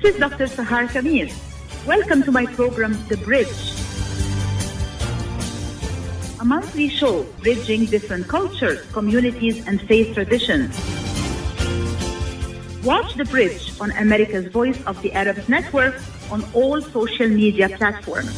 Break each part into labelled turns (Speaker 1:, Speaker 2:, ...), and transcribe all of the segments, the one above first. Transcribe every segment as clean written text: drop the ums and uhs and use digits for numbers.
Speaker 1: is Dr. Sahar Khamis. Welcome to my program, The Bridge, a monthly show bridging different cultures, communities, and faith traditions. Watch The Bridge on America's Voice of the Arabs Network on all social media platforms.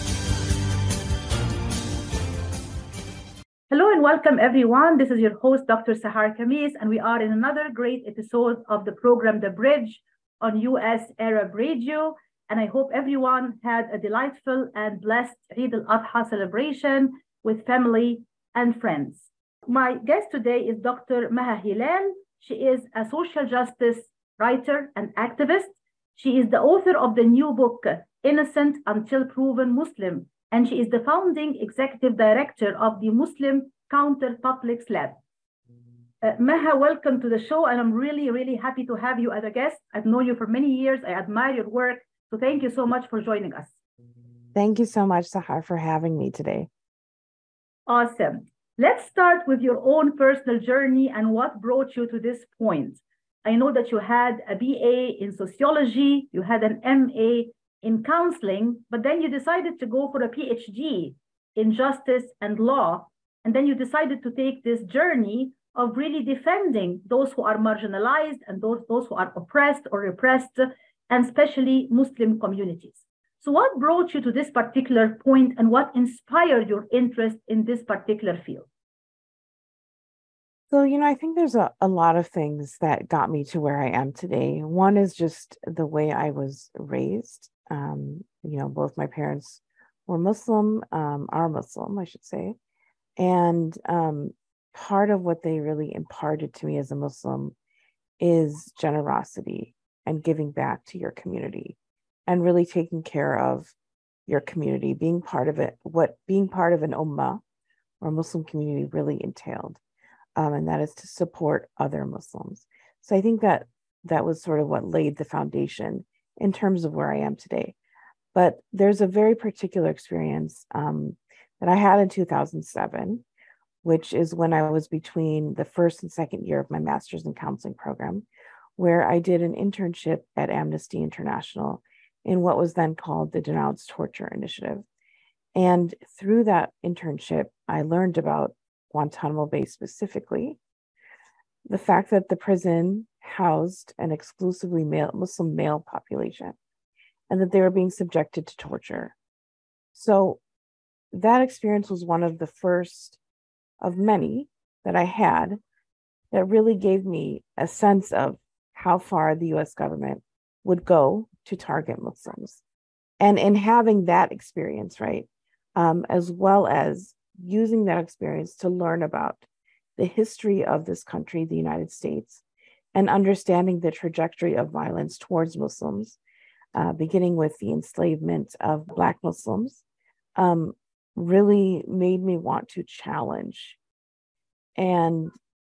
Speaker 1: Hello and welcome, everyone. This is your host, Dr. Sahar Khamis, and we are in another great episode of the program, The Bridge, on US Arab Radio. And I hope everyone had a delightful and blessed Eid al-Adha celebration with family and friends. My guest today is Dr. Maha Hilal. She is a social justice writer and activist. She is the author of the new book, Innocent Until Proven Muslim, and she is the founding executive director of the Muslim Counter Publics Lab. Maha, welcome to the show, and I'm really, really happy to have you as a guest. I've known you for many years. I admire your work. So thank you so much for joining us.
Speaker 2: Thank you so much, Sahar, for having me today.
Speaker 1: Awesome. Let's start with your own personal journey and what brought you to this point. I know that you had a BA in sociology, you had an MA in counseling, but then you decided to go for a PhD in justice and law. And then you decided to take this journey of really defending those who are marginalized and those who are oppressed or repressed, and especially Muslim communities. So what brought you to this particular point and what inspired your interest in this particular field?
Speaker 2: So, I think there's a lot of things that got me to where I am today. One is just the way I was raised. Both my parents were Muslim, are Muslim, I should say. And part of what they really imparted to me as a Muslim is generosity and giving back to your community and really taking care of your community, being part of it, what being part of an ummah or Muslim community really entailed. And that is to support other Muslims. So I think that was sort of what laid the foundation in terms of where I am today. But there's a very particular experience that I had in 2007, which is when I was between the first and second year of my master's in counseling program, where I did an internship at Amnesty International in what was then called the Denounce Torture Initiative. And through that internship, I learned about Guantanamo Bay specifically, the fact that the prison housed an exclusively Muslim male population, and that they were being subjected to torture. So that experience was one of the first of many that I had that really gave me a sense of how far the US government would go to target Muslims. And in having that experience, right, as well as using that experience to learn about the history of this country, the United States, and understanding the trajectory of violence towards Muslims, beginning with the enslavement of Black Muslims, really made me want to challenge and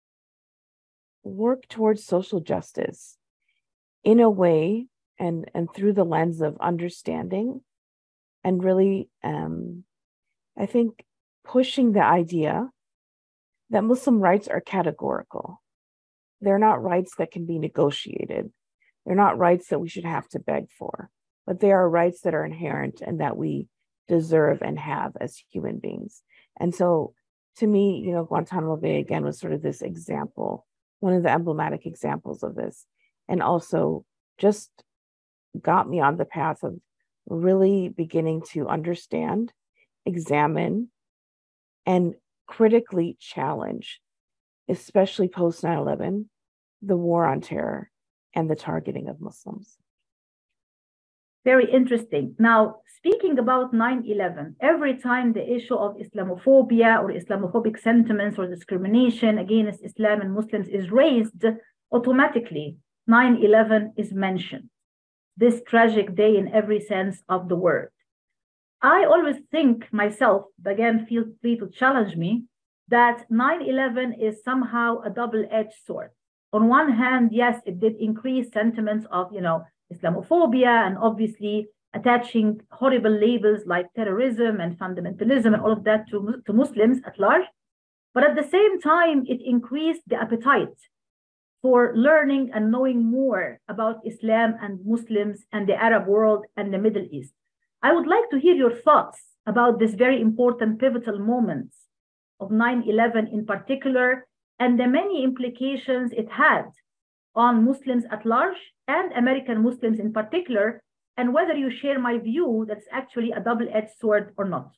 Speaker 2: work towards social justice in a way and through the lens of understanding and really, I think, pushing the idea that Muslim rights are categorical. They're not rights that can be negotiated. They're not rights that we should have to beg for, but they are rights that are inherent and that we deserve and have as human beings. And so to me, Guantanamo Bay again was sort of this example, one of the emblematic examples of this, and also just got me on the path of really beginning to understand, examine, and critically challenge, especially post 9/11, the war on terror and the targeting of Muslims.
Speaker 1: Very interesting. Now, speaking about 9/11, every time the issue of Islamophobia or Islamophobic sentiments or discrimination against Islam and Muslims is raised, automatically 9/11 is mentioned. This tragic day in every sense of the word. I always think myself, again, feel free to challenge me, that 9/11 is somehow a double-edged sword. On one hand, yes, it did increase sentiments of, Islamophobia and obviously attaching horrible labels like terrorism and fundamentalism and all of that to Muslims at large. But at the same time, it increased the appetite for learning and knowing more about Islam and Muslims and the Arab world and the Middle East. I would like to hear your thoughts about this very important pivotal moments of 9/11 in particular, and the many implications it had on Muslims at large and American Muslims in particular, and whether you share my view that's actually a double-edged sword or not.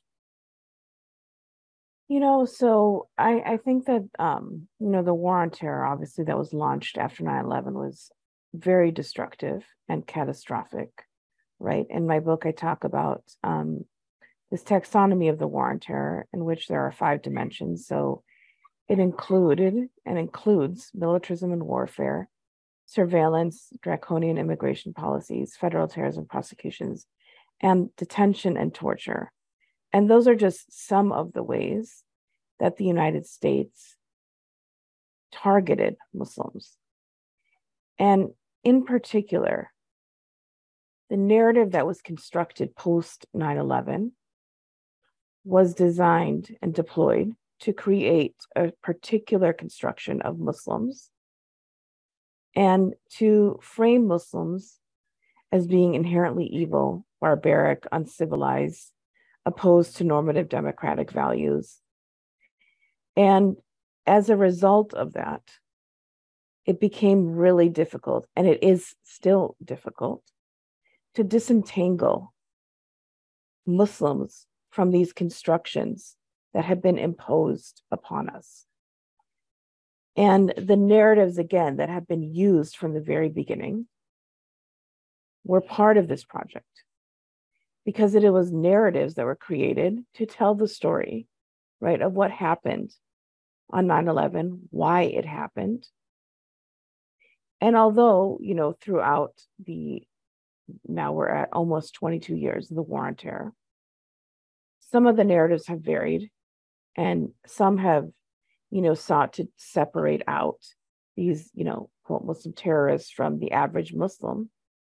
Speaker 2: So I think that, the war on terror, obviously, that was launched after 9/11 was very destructive and catastrophic, right? In my book, I talk about this taxonomy of the war on terror, in which there are 5 dimensions. So it included and includes militarism and warfare, surveillance, draconian immigration policies, federal terrorism prosecutions, and detention and torture. And those are just some of the ways that the United States targeted Muslims. And in particular, the narrative that was constructed post 9/11 was designed and deployed to create a particular construction of Muslims and to frame Muslims as being inherently evil, barbaric, uncivilized, opposed to normative democratic values. And as a result of that, it became really difficult, and it is still difficult, to disentangle Muslims from these constructions that have been imposed upon us. And the narratives, again, that have been used from the very beginning were part of this project, because it was narratives that were created to tell the story, right, of what happened on 9/11, why it happened. And although, throughout now we're at almost 22 years of the war on terror, some of the narratives have varied, and some have, sought to separate out these, quote, Muslim terrorists from the average Muslim.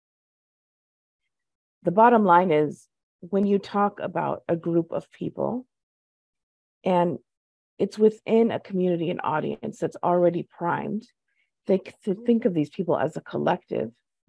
Speaker 2: The bottom line is, when you talk about a group of people and it's within a community and audience that's already primed to think of these people as a collective,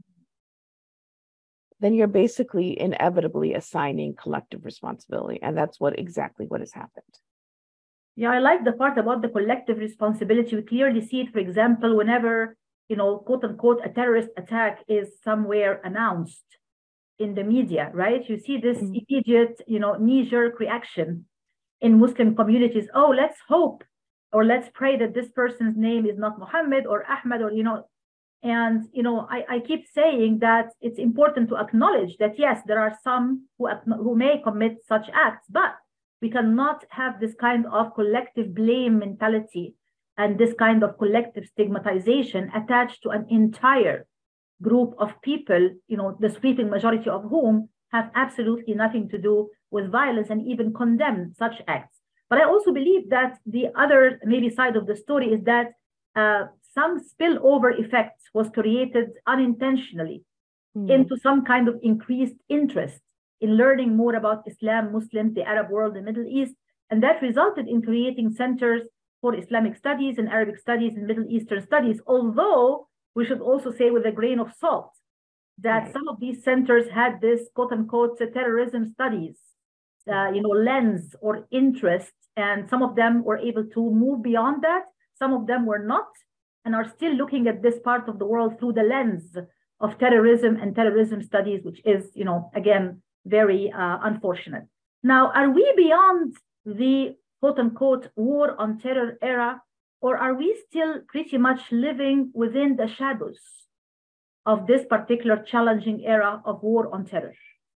Speaker 2: then you're basically inevitably assigning collective responsibility. And that's exactly what has happened.
Speaker 1: Yeah, I like the part about the collective responsibility. We clearly see it, for example, whenever, quote unquote, a terrorist attack is somewhere announced in the media, right? You see this immediate, knee-jerk reaction in Muslim communities. Oh, let's hope, or let's pray that this person's name is not Muhammad or Ahmed, or, and, I keep saying that it's important to acknowledge that, yes, there are some who may commit such acts, but we cannot have this kind of collective blame mentality and this kind of collective stigmatization attached to an entire group of people, the sweeping majority of whom have absolutely nothing to do with violence and even condemn such acts. But I also believe that the other maybe side of the story is that some spillover effects was created unintentionally into some kind of increased interest in learning more about Islam, Muslims, the Arab world, the Middle East. And that resulted in creating centers for Islamic studies and Arabic studies and Middle Eastern studies. Although we should also say with a grain of salt that some of these centers had this quote unquote terrorism studies, lens or interest. And some of them were able to move beyond that. Some of them were not, and are still looking at this part of the world through the lens of terrorism and terrorism studies, which is, again, very unfortunate. Now, are we beyond the quote unquote war on terror era, or are we still pretty much living within the shadows of this particular challenging era of war on terror?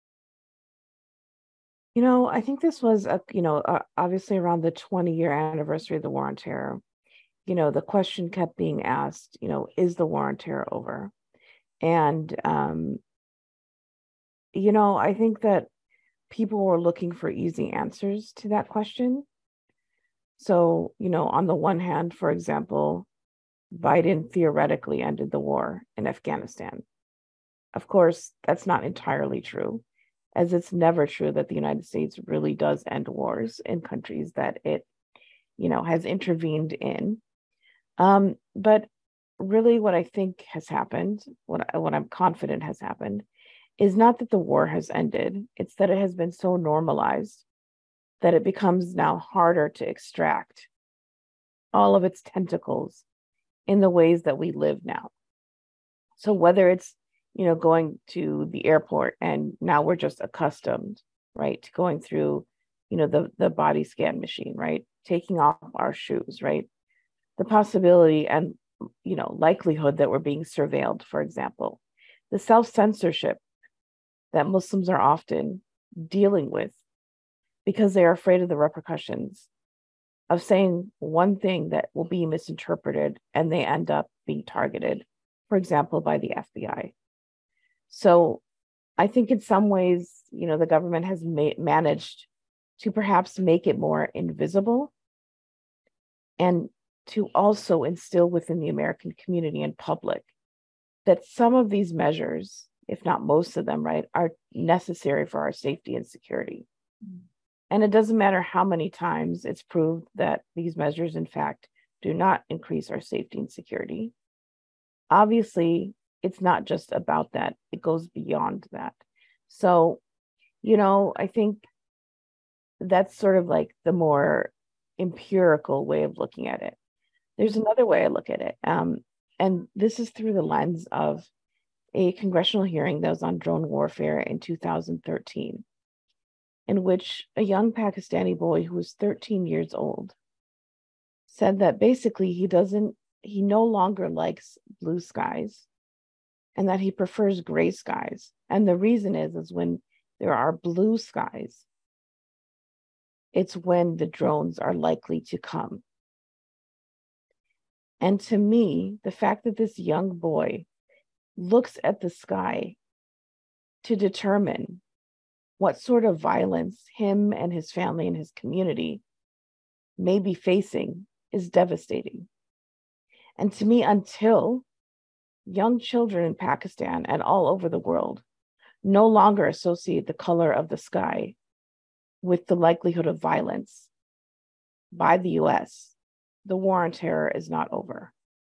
Speaker 2: I think this was, obviously around the 20-year anniversary of the war on terror. The question kept being asked, is the war on terror over? And, I think that people were looking for easy answers to that question. So, on the one hand, for example, Biden theoretically ended the war in Afghanistan. Of course, that's not entirely true, as it's never true that the United States really does end wars in countries that it, has intervened in. But really what I think has happened, what I'm confident has happened, is not that the war has ended, it's that it has been so normalized that it becomes now harder to extract all of its tentacles in the ways that we live now. So whether it's, going to the airport and now we're just accustomed, right, to going through, the body scan machine, right, taking off our shoes, right, the possibility and, likelihood that we're being surveilled, for example, the self-censorship that Muslims are often dealing with because they are afraid of the repercussions of saying one thing that will be misinterpreted and they end up being targeted, for example, by the FBI. So I think in some ways, the government has managed to perhaps make it more invisible and to also instill within the American community and public that some of these measures, if not most of them, right, are necessary for our safety and security. And it doesn't matter how many times it's proved that these measures, in fact, do not increase our safety and security. Obviously, it's not just about that. It goes beyond that. So, I think that's sort of like the more empirical way of looking at it. There's another way I look at it. And this is through the lens of a congressional hearing that was on drone warfare in 2013, in which a young Pakistani boy who was 13 years old said that basically he no longer likes blue skies and that he prefers gray skies. And the reason is when there are blue skies, it's when the drones are likely to come. And to me, the fact that this young boy looks at the sky to determine what sort of violence him and his family and his community may be facing is devastating. And to me, until young children in Pakistan and all over the world no longer associate the color of the sky with the likelihood of violence by the US, the war on terror is not over.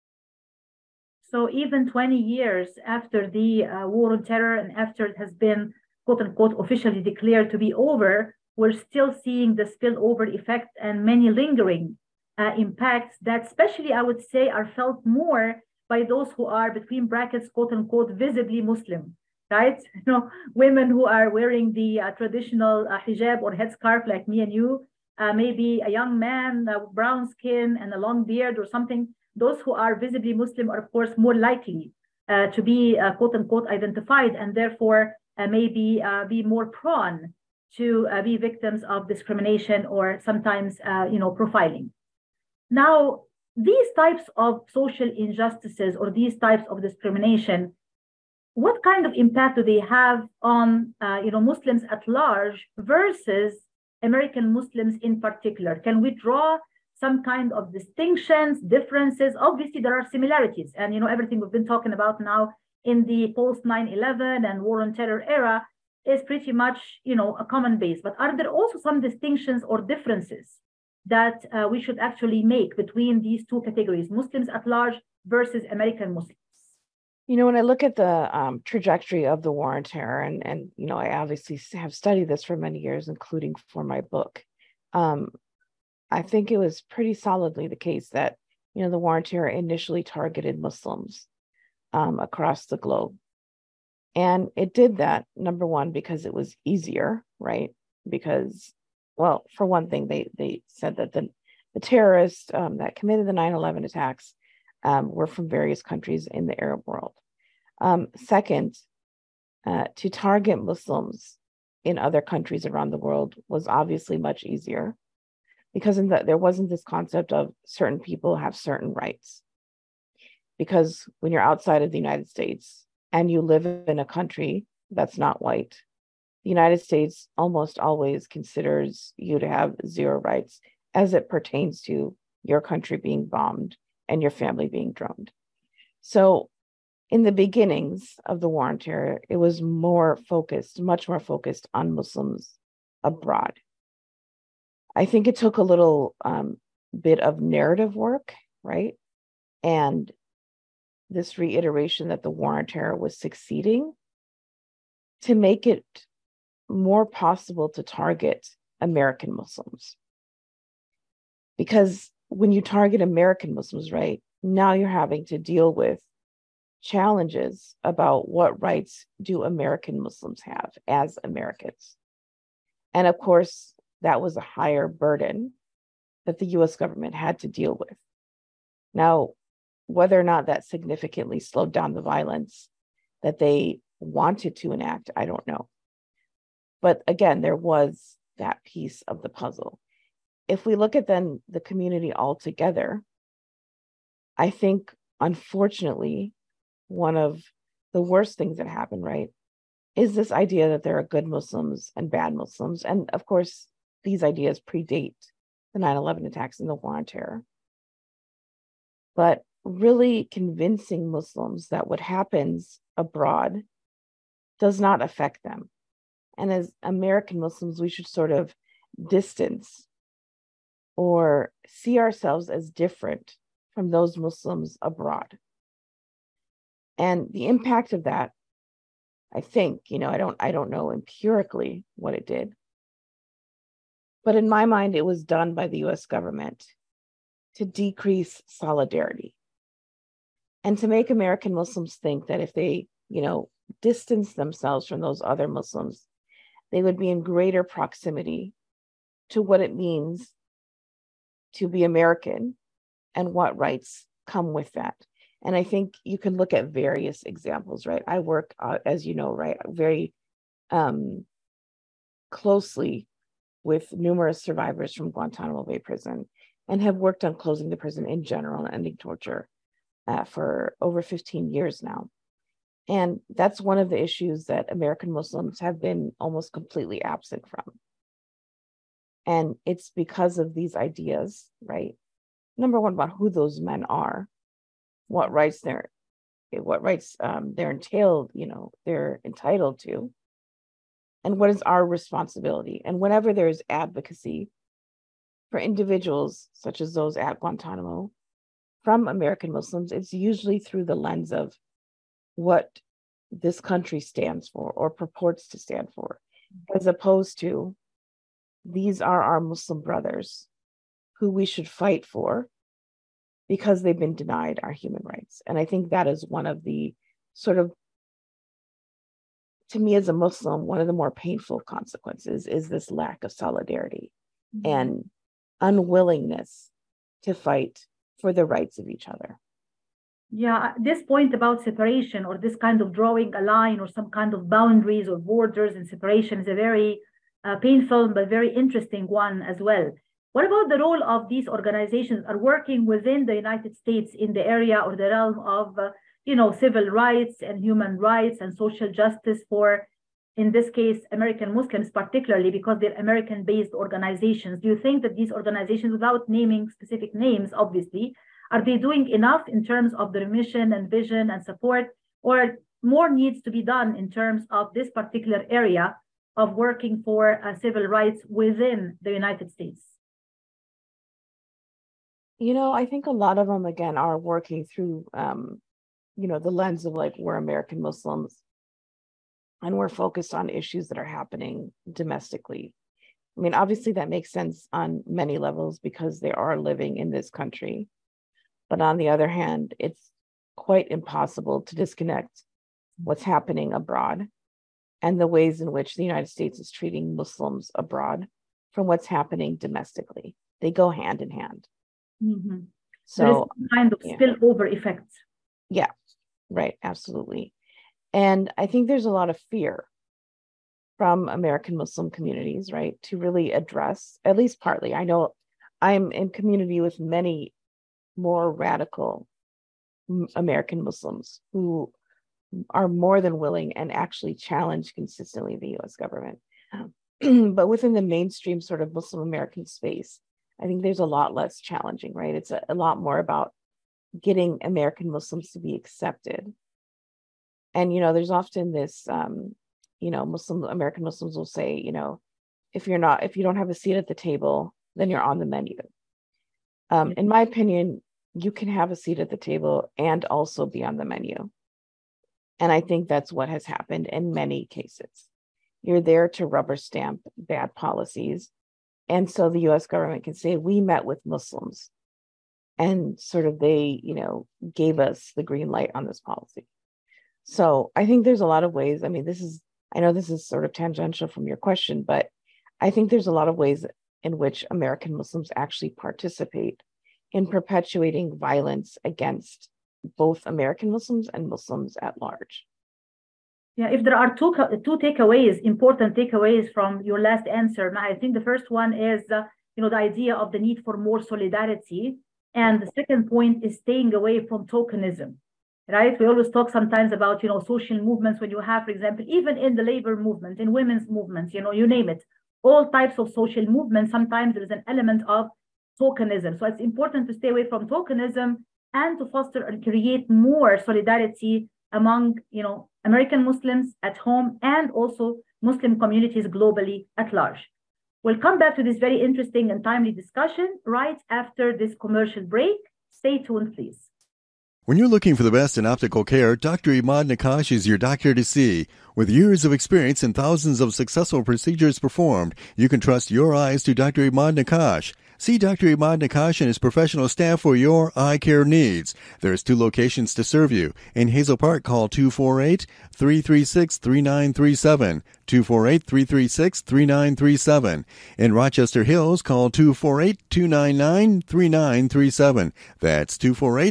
Speaker 1: So even 20 years after the war on terror and after it has been, quote unquote, officially declared to be over, we're still seeing the spillover effect and many lingering impacts that especially, I would say, are felt more by those who are, between brackets, quote unquote, visibly Muslim, right? Women who are wearing the traditional hijab or headscarf like me and you, maybe a young man, brown skin and a long beard or something. Those who are visibly Muslim are, of course, more likely to be, quote unquote, identified and therefore maybe be more prone to be victims of discrimination or sometimes, profiling. Now, these types of social injustices or these types of discrimination, what kind of impact do they have on, Muslims at large versus American Muslims in particular? Can we draw some kind of distinctions, differences? Obviously, there are similarities. And, everything we've been talking about now in the post 9/11 and war on terror era is pretty much, a common base. But are there also some distinctions or differences that we should actually make between these two categories, Muslims at large versus American Muslims?
Speaker 2: When I look at the trajectory of the war on terror, and I obviously have studied this for many years, including for my book, I think it was pretty solidly the case that, the war on terror initially targeted Muslims across the globe. And it did that, number one, because it was easier, right? Because, well, for one thing, they said that the terrorists that committed the 9/11 attacks were from various countries in the Arab world. Second, to target Muslims in other countries around the world was obviously much easier because there wasn't this concept of certain people have certain rights. Because when you're outside of the United States and you live in a country that's not white, the United States almost always considers you to have zero rights as it pertains to your country being bombed and your family being droned. So in the beginnings of the war on terror, it was much more focused on Muslims abroad. I think it took a little bit of narrative work, right? And this reiteration that the war on terror was succeeding to make it more possible to target American Muslims. Because when you target American Muslims, right, now you're having to deal with challenges about what rights do American Muslims have as Americans. And of course, that was a higher burden that the US government had to deal with. Now, whether or not that significantly slowed down the violence that they wanted to enact, I don't know. But again, there was that piece of the puzzle. If we look at then the community altogether, I think, unfortunately, one of the worst things that happened, right, is this idea that there are good Muslims and bad Muslims. And of course, these ideas predate the 9/11 attacks and the war on terror. But really convincing Muslims that what happens abroad does not affect them. And as American Muslims, we should sort of distance or see ourselves as different from those Muslims abroad. And the impact of that, I think, I don't know empirically what it did, but in my mind, it was done by the US government to decrease solidarity and to make American Muslims think that if they, distance themselves from those other Muslims, they would be in greater proximity to what it means to be American and what rights come with that. And I think you can look at various examples, right? I work, as you know, right, very closely with numerous survivors from Guantanamo Bay Prison and have worked on closing the prison in general and ending torture for over 15 years now. And that's one of the issues that American Muslims have been almost completely absent from. And it's because of these ideas, right? Number one, about who those men are, what rights they're entailed, they're entitled to, and what is our responsibility. And whenever there is advocacy for individuals such as those at Guantanamo from American Muslims, it's usually through the lens of what this country stands for or purports to stand for, as opposed to these are our Muslim brothers who we should fight for because they've been denied our human rights. And I think that is one of the sort of, to me as a Muslim, one of the more painful consequences is this lack of solidarity and unwillingness to fight for the rights of each other.
Speaker 1: Yeah, this point about separation or this kind of drawing a line or some kind of boundaries or borders and separation is a very painful but very interesting one as well. What about the role of these organizations are working within the United States in the area or the realm of, civil rights and human rights and social justice for, in this case, American Muslims, particularly because they're American-based organizations? Do you think that these organizations, without naming specific names, obviously, are they doing enough in terms of their mission and vision and support, or more needs to be done in terms of this particular area of working for civil rights within the United States?
Speaker 2: I think a lot of them, again, are working through, the lens of like, we're American Muslims and we're focused on issues that are happening domestically. I mean, obviously that makes sense on many levels because they are living in this country. But on the other hand, it's quite impossible to disconnect what's happening abroad and the ways in which the United States is treating Muslims abroad from what's happening domestically. They go hand in hand.
Speaker 1: Mm-hmm.
Speaker 2: So
Speaker 1: there is some kind of spillover effect.
Speaker 2: Yeah, right. Absolutely. And I think there's a lot of fear from American Muslim communities, right, to really address, at least partly. I know I'm in community with many more radical American Muslims who are more than willing and actually challenge consistently the US government. But within the mainstream sort of Muslim American space, I think there's a lot less challenging, right? It's a lot more about getting American Muslims to be accepted. And, there's often this, American Muslims will say, if you don't have a seat at the table, then you're on the menu. In my opinion, you can have a seat at the table and also be on the menu. And I think that's what has happened in many cases. You're there to rubber stamp bad policies. And so the US government can say, we met with Muslims and sort of they, gave us the green light on this policy. So I think there's a lot of ways. I mean, I know this is sort of tangential from your question, but I think there's a lot of ways in which American Muslims actually participate in perpetuating violence against both American Muslims and Muslims at large.
Speaker 1: Yeah, if there are two takeaways, important takeaways from your last answer, I think the first one is, the idea of the need for more solidarity. And the second point is staying away from tokenism, right? We always talk sometimes about, social movements when you have, for example, even in the labor movement, in women's movements, you name it, all types of social movements, sometimes there is an element of tokenism. So it's important to stay away from tokenism and to foster and create more solidarity among, American Muslims at home and also Muslim communities globally at large. We'll come back to this very interesting and timely discussion right after this commercial break. Stay tuned, please.
Speaker 3: When you're looking for the best in optical care, Dr. Imad Nakash is your doctor to see. With years of experience and thousands of successful procedures performed, you can trust your eyes to Dr. Imad Nakash. See Dr. Imad Nakash and his professional staff for your eye care needs. There's 2 locations to serve you. In Hazel Park, call 248-336-3937. 248-336-3937. In Rochester Hills, call 248-299-3937. That's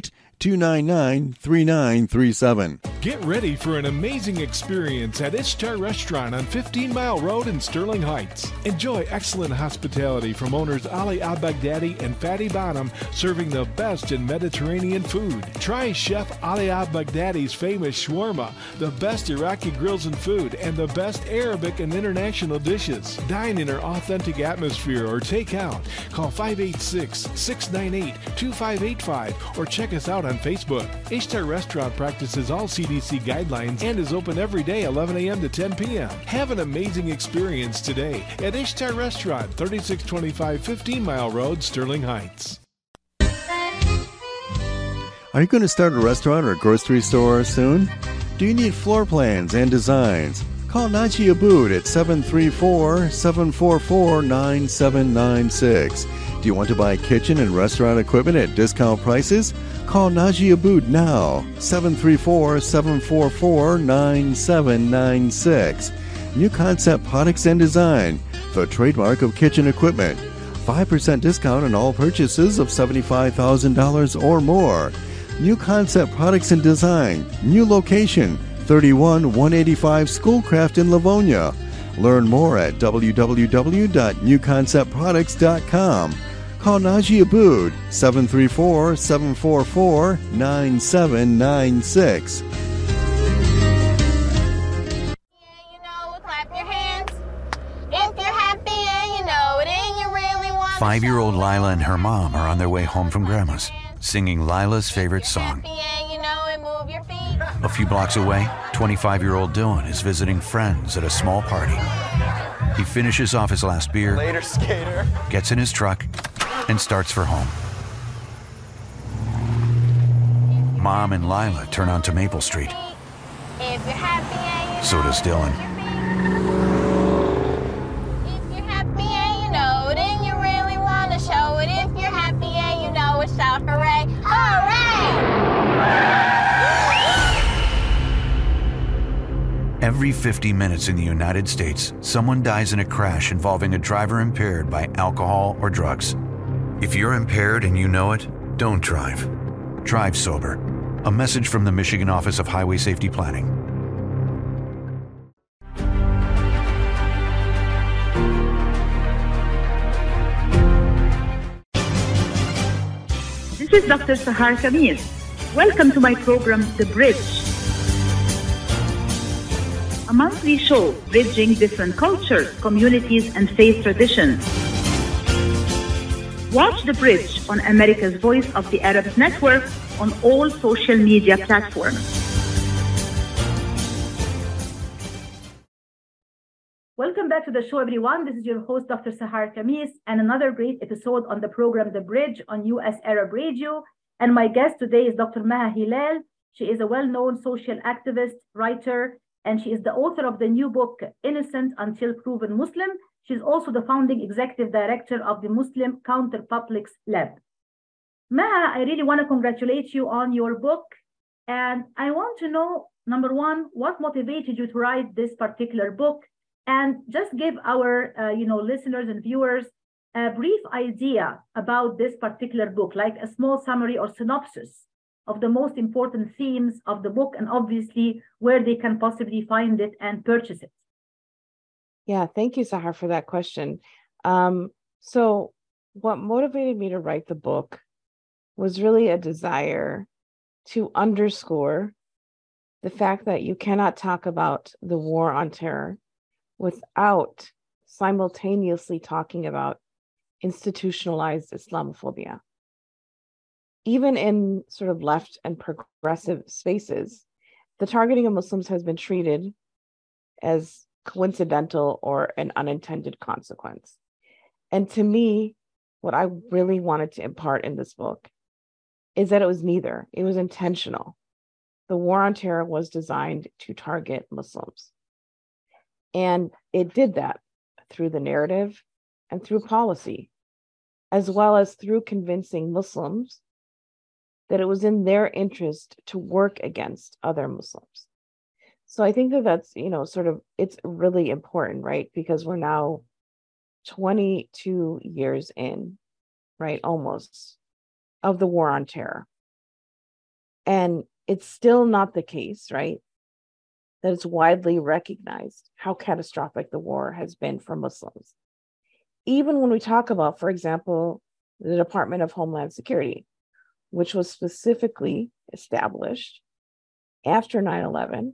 Speaker 3: 248-299-3937.
Speaker 4: Get ready for an amazing experience at Ishtar Restaurant on 15 Mile Road in Sterling Heights. Enjoy excellent hospitality from owners Ali Al-Baghdadi and Fatty Bonham, serving the best in Mediterranean food. Try Chef Ali Al-Baghdadi's famous shawarma, the best Iraqi grills and food, and the best Arabic and international dishes. Dine in our authentic atmosphere or take out. Call 586-698-2585 or check us out on Facebook. Ishtar Restaurant practices all CDC guidelines and is open every day 11 a.m. to 10 p.m. Have an amazing experience today at Ishtar Restaurant, 3625 15 Mile Road, Sterling Heights.
Speaker 3: Are you going to start a restaurant or grocery store soon? Do you need floor plans and designs? Call Naji Abood at 734-744-9796. Do you want to buy kitchen and restaurant equipment at discount prices? Call Naji Abood now, 734-744-9796. New Concept Products and Design, the trademark of kitchen equipment. 5% discount on all purchases of $75,000 or more. New Concept Products and Design, new location, 31185 Schoolcraft in Livonia. Learn more at www.newconceptproducts.com. Call Naji Abood, 734-744-9796.
Speaker 5: Clap your hands. If you're happy and you know it and you really want to.
Speaker 6: 5-year-old Lila and her mom are on their way home from Grandma's, singing Lila's favorite song. A few blocks away, 25-year-old Dylan is visiting friends at a small party. He finishes off his last beer,
Speaker 7: later, skater,
Speaker 6: gets in his truck, and starts for home. Mom and Lila turn onto Maple Street.
Speaker 5: If you're happy and you
Speaker 6: So does Dylan.
Speaker 5: If you're happy and you know it and you really want to show it. If you're happy and you know it, shout hooray, hooray!
Speaker 6: Every 50 minutes in the United States, someone dies in a crash involving a driver impaired by alcohol or drugs. If you're impaired and you know it, don't drive. Drive sober. A message from the Michigan Office of Highway Safety Planning.
Speaker 1: This is Dr. Sahar Khamis. Welcome to my program, The Bridge. A monthly show bridging different cultures, communities, and faith traditions. Watch The Bridge on America's Voice of the Arabs Network on all social media platforms. Welcome back to the show, everyone. This is your host, Dr. Sahar Khamis, and another great episode on the program, The Bridge on US Arab Radio. And my guest today is Dr. Maha Hilal. She is a well-known social activist, writer, and she is the author of the new book, Innocent Until Proven Muslim. She's also the founding executive director of the Muslim Counterpublics Lab. Maha, I really want to congratulate you on your book. And I want to know, number one, what motivated you to write this particular book? And just give our listeners and viewers a brief idea about this particular book, like a small summary or synopsis of the most important themes of the book, and obviously where they can possibly find it and purchase it.
Speaker 2: Yeah, thank you, Sahar, for that question. So what motivated me to write the book was really a desire to underscore the fact that you cannot talk about the war on terror without simultaneously talking about institutionalized Islamophobia. Even in sort of left and progressive spaces, the targeting of Muslims has been treated as coincidental or an unintended consequence. And to me, what I really wanted to impart in this book is that it was neither. It was intentional. The war on terror was designed to target Muslims. And it did that through the narrative and through policy, as well as through convincing Muslims that it was in their interest to work against other Muslims. So I think that that's, it's really important, right? Because we're now 22 years in, right, almost, of the war on terror. And it's still not the case, right, that it's widely recognized how catastrophic the war has been for Muslims. Even when we talk about, for example, the Department of Homeland Security, which was specifically established after 9/11,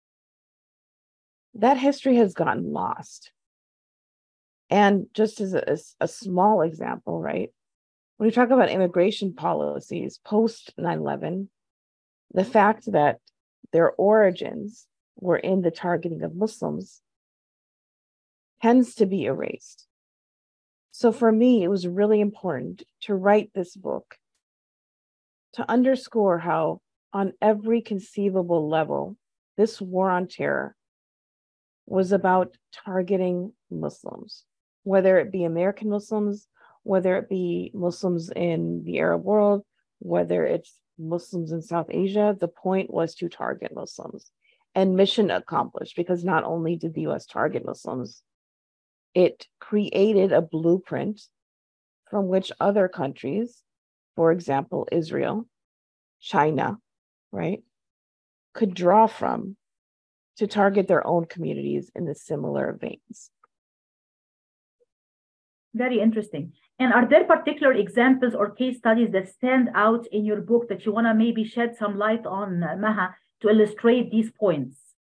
Speaker 2: that history has gotten lost. And just as a small example, right, when we talk about immigration policies post 9/11, the fact that their origins were in the targeting of Muslims tends to be erased. So for me, it was really important to write this book to underscore how, on every conceivable level, this war on terror was about targeting Muslims, whether it be American Muslims, whether it be Muslims in the Arab world, whether it's Muslims in South Asia. The point was to target Muslims, and mission accomplished, because not only did the US target Muslims, it created a blueprint from which other countries, for example, Israel, China, right, could draw from to target their own communities in the similar veins.
Speaker 1: Very interesting. And are there particular examples or case studies that stand out in your book that you want to maybe shed some light on, Maha, to illustrate these points?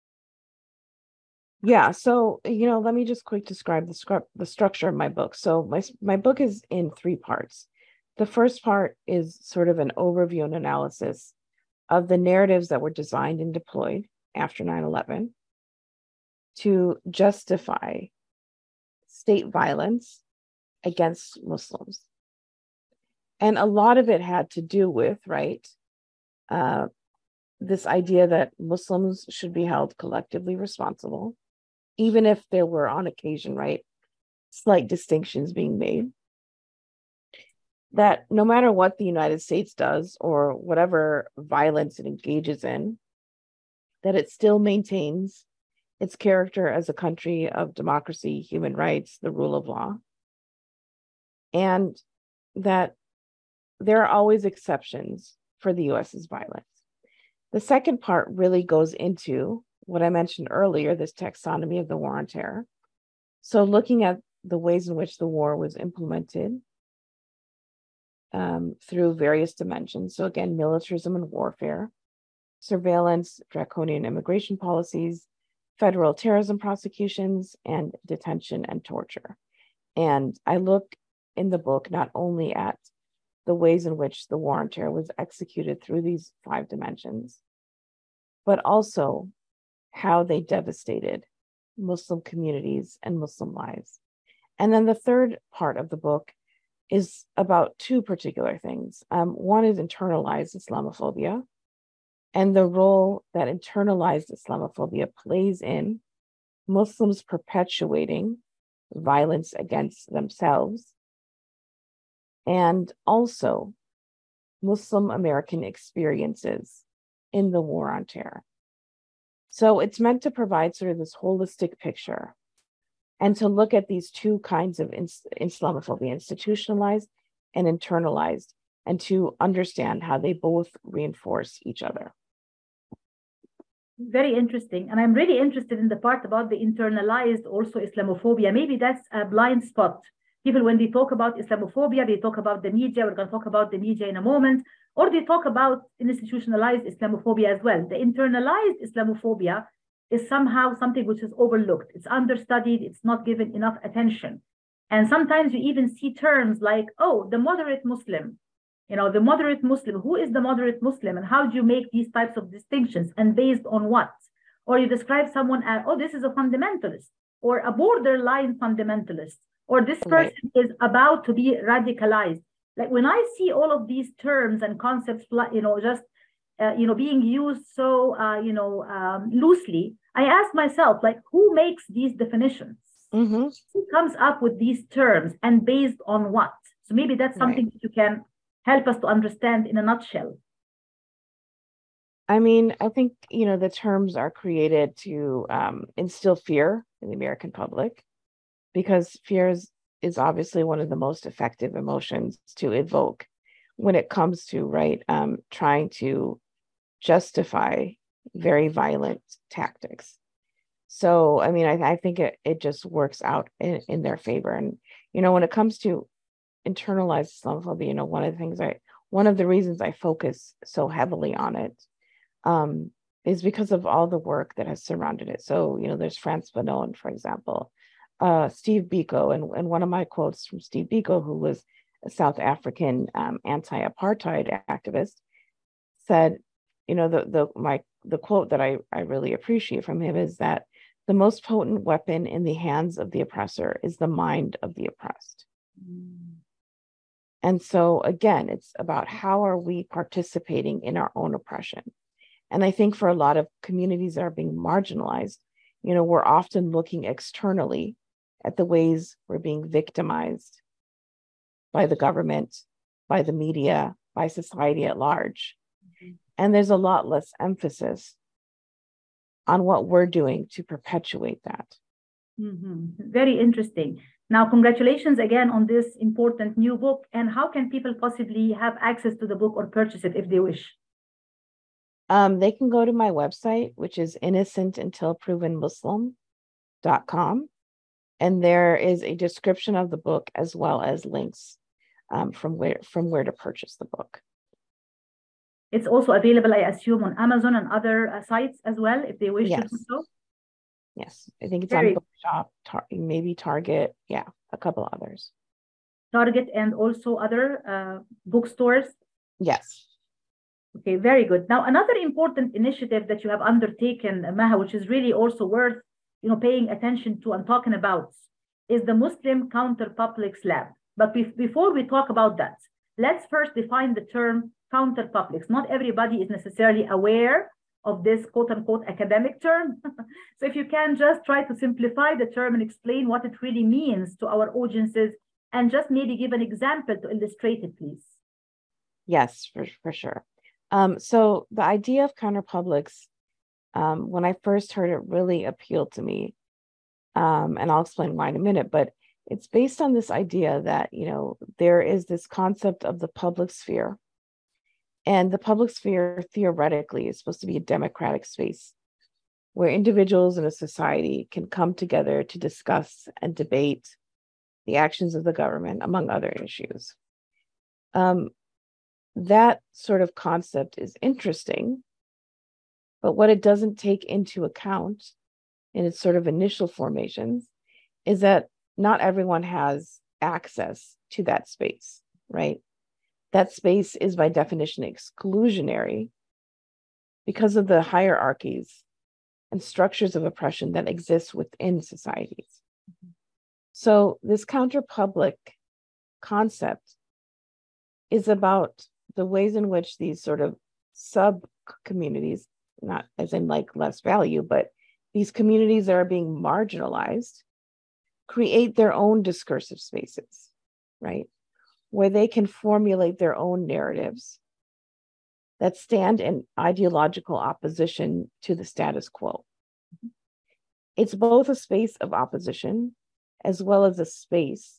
Speaker 2: Yeah, so, let me just quick describe the structure of my book. So my book is in three parts. The first part is sort of an overview and analysis of the narratives that were designed and deployed after 9/11 to justify state violence against Muslims. And a lot of it had to do with, right, this idea that Muslims should be held collectively responsible, even if there were on occasion, right, slight distinctions being made. That no matter what the United States does or whatever violence it engages in, that it still maintains its character as a country of democracy, human rights, the rule of law, and that there are always exceptions for the US's violence. The second part really goes into what I mentioned earlier, this taxonomy of the war on terror. So looking at the ways in which the war was implemented through various dimensions. So again, militarism and warfare, surveillance, draconian immigration policies, federal terrorism prosecutions, and detention and torture. And I look in the book not only at the ways in which the war on terror was executed through these five dimensions, but also how they devastated Muslim communities and Muslim lives. And then the third part of the book is about two particular things. One is internalized Islamophobia and the role that internalized Islamophobia plays in Muslims perpetuating violence against themselves, and also Muslim American experiences in the war on terror. So it's meant to provide sort of this holistic picture and to look at these two kinds of Islamophobia, institutionalized and internalized, and to understand how they both reinforce each other.
Speaker 1: Very interesting. And I'm really interested in the part about the internalized also Islamophobia. Maybe that's a blind spot. People, when they talk about Islamophobia, they talk about the media. We're going to talk about the media in a moment. Or they talk about institutionalized Islamophobia as well. The internalized Islamophobia is somehow something which is overlooked. It's understudied. It's not given enough attention. And sometimes you even see terms like, oh, the moderate Muslim. You know, the moderate Muslim, who is the moderate Muslim and how do you make these types of distinctions and based on what? Or you describe someone as, oh, this is a fundamentalist or a borderline fundamentalist, or this person is about to be radicalized. Like when I see all of these terms and concepts, you know, just, being used so, loosely, I ask myself, like, who makes these definitions?
Speaker 2: Mm-hmm.
Speaker 1: Who comes up with these terms and based on what? So maybe that's something that you can help us to understand in a nutshell.
Speaker 2: I mean, I think, the terms are created to instill fear in the American public, because fear is obviously one of the most effective emotions to evoke when it comes to, trying to justify very violent tactics. So, I mean, I think it just works out in their favor. And, when it comes to internalized Islamophobia, one of the reasons I focus so heavily on it is because of all the work that has surrounded it. So, there's Frantz Fanon, for example, Steve Biko, and one of my quotes from Steve Biko, who was a South African anti-apartheid activist, said, the quote that I really appreciate from him is that the most potent weapon in the hands of the oppressor is the mind of the oppressed. And so, again, it's about how are we participating in our own oppression? And I think for a lot of communities that are being marginalized, we're often looking externally at the ways we're being victimized by the government, by the media, by society at large. Mm-hmm. And there's a lot less emphasis on what we're doing to perpetuate that.
Speaker 1: Mm-hmm. Very interesting. Now, congratulations again on this important new book. And how can people possibly have access to the book or purchase it if they wish?
Speaker 2: They can go to my website, which is innocentuntilprovenmuslim.com. And there is a description of the book as well as links from where to purchase the book.
Speaker 1: It's also available, I assume, on Amazon and other sites as well, if they wish to do so.
Speaker 2: Yes, I think it's on Bookshop, maybe Target, a couple others.
Speaker 1: Target and also other bookstores?
Speaker 2: Yes.
Speaker 1: Okay, very good. Now, another important initiative that you have undertaken, Maha, which is really also worth paying attention to and talking about, is the Muslim Counterpublics Lab. But before we talk about that, let's first define the term counterpublics. Not everybody is necessarily aware of this quote-unquote academic term. So if you can just try to simplify the term and explain what it really means to our audiences, and just maybe give an example to illustrate it, please.
Speaker 2: Yes, for sure. So the idea of counterpublics, when I first heard it, really appealed to me. And I'll explain why in a minute, but it's based on this idea that, there is this concept of the public sphere. And the public sphere, theoretically, is supposed to be a democratic space where individuals in a society can come together to discuss and debate the actions of the government, among other issues. That sort of concept is interesting, but what it doesn't take into account in its sort of initial formations is that not everyone has access to that space, right? That space is by definition exclusionary because of the hierarchies and structures of oppression that exist within societies. Mm-hmm. So this counterpublic concept is about the ways in which these sort of sub communities, not as in like less value, but these communities that are being marginalized create their own discursive spaces, right? Where they can formulate their own narratives that stand in ideological opposition to the status quo. It's both a space of opposition as well as a space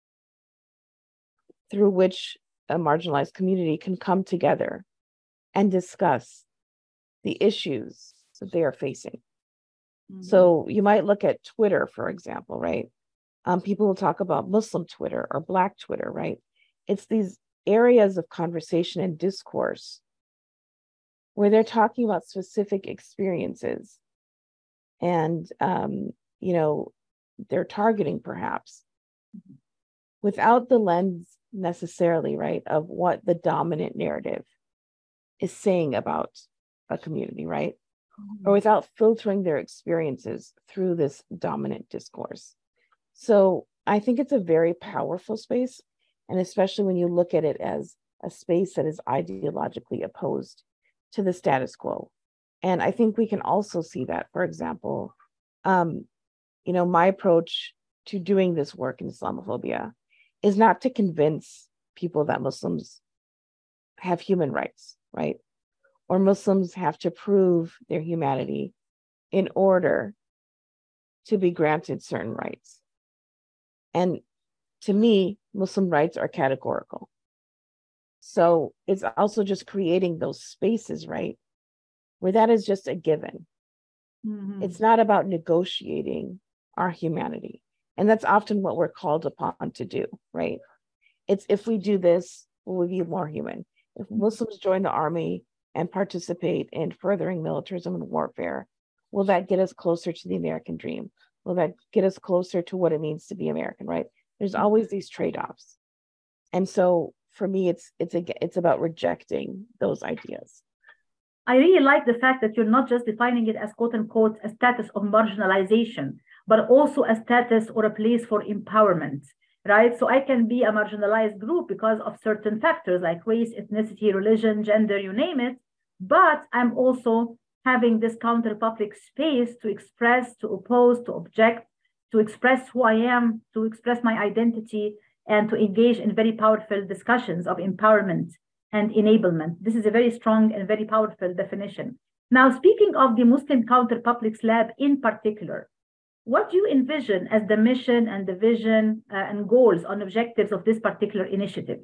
Speaker 2: through which a marginalized community can come together and discuss the issues that they are facing. Mm-hmm. So you might look at Twitter, for example, right? People will talk about Muslim Twitter or Black Twitter, right? It's these areas of conversation and discourse where they're talking about specific experiences and, they're targeting perhaps without the lens necessarily, right, of what the dominant narrative is saying about a community, right? Or without filtering their experiences through this dominant discourse. So I think it's a very powerful space, and especially when you look at it as a space that is ideologically opposed to the status quo. And I think we can also see that, for example, my approach to doing this work in Islamophobia is not to convince people that Muslims have human rights, right? Or Muslims have to prove their humanity in order to be granted certain rights. And to me, Muslim rights are categorical. So it's also just creating those spaces, right, where that is just a given. Mm-hmm. It's not about negotiating our humanity. And that's often what we're called upon to do, right? It's if we do this, we'll be more human. If Muslims join the army and participate in furthering militarism and warfare, will that get us closer to the American dream? Will that get us closer to what it means to be American, right? There's always these trade-offs. And so for me, it's about rejecting those ideas.
Speaker 1: I really like the fact that you're not just defining it as quote unquote a status of marginalization, but also a status or a place for empowerment, right? So I can be a marginalized group because of certain factors like race, ethnicity, religion, gender, you name it. But I'm also having this counter-public space to express, to oppose, to object, to express who I am, to express my identity, and to engage in very powerful discussions of empowerment and enablement. This is a very strong and very powerful definition. Now, speaking of the Muslim Counter-Publics Lab in particular, what do you envision as the mission and the vision and goals and objectives of this particular initiative?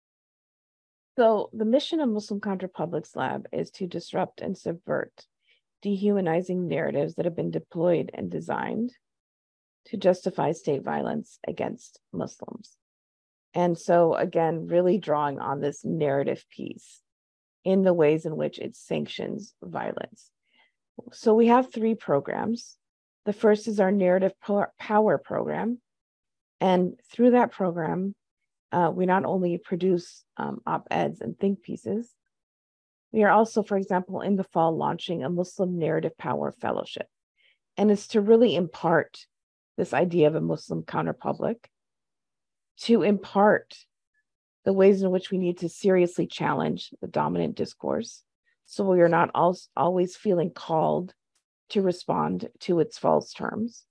Speaker 2: So the mission of Muslim Counter-Publics Lab is to disrupt and subvert dehumanizing narratives that have been deployed and designed to justify state violence against Muslims. And so, again, really drawing on this narrative piece in the ways in which it sanctions violence. So we have 3 programs. The first is our Narrative Power program. And through that program, we not only produce op-eds and think pieces, we are also, for example, in the fall, launching a Muslim Narrative Power Fellowship. And it's to really impart this idea of a Muslim counterpublic, to impart the ways in which we need to seriously challenge the dominant discourse, so we are not always feeling called to respond to its false terms.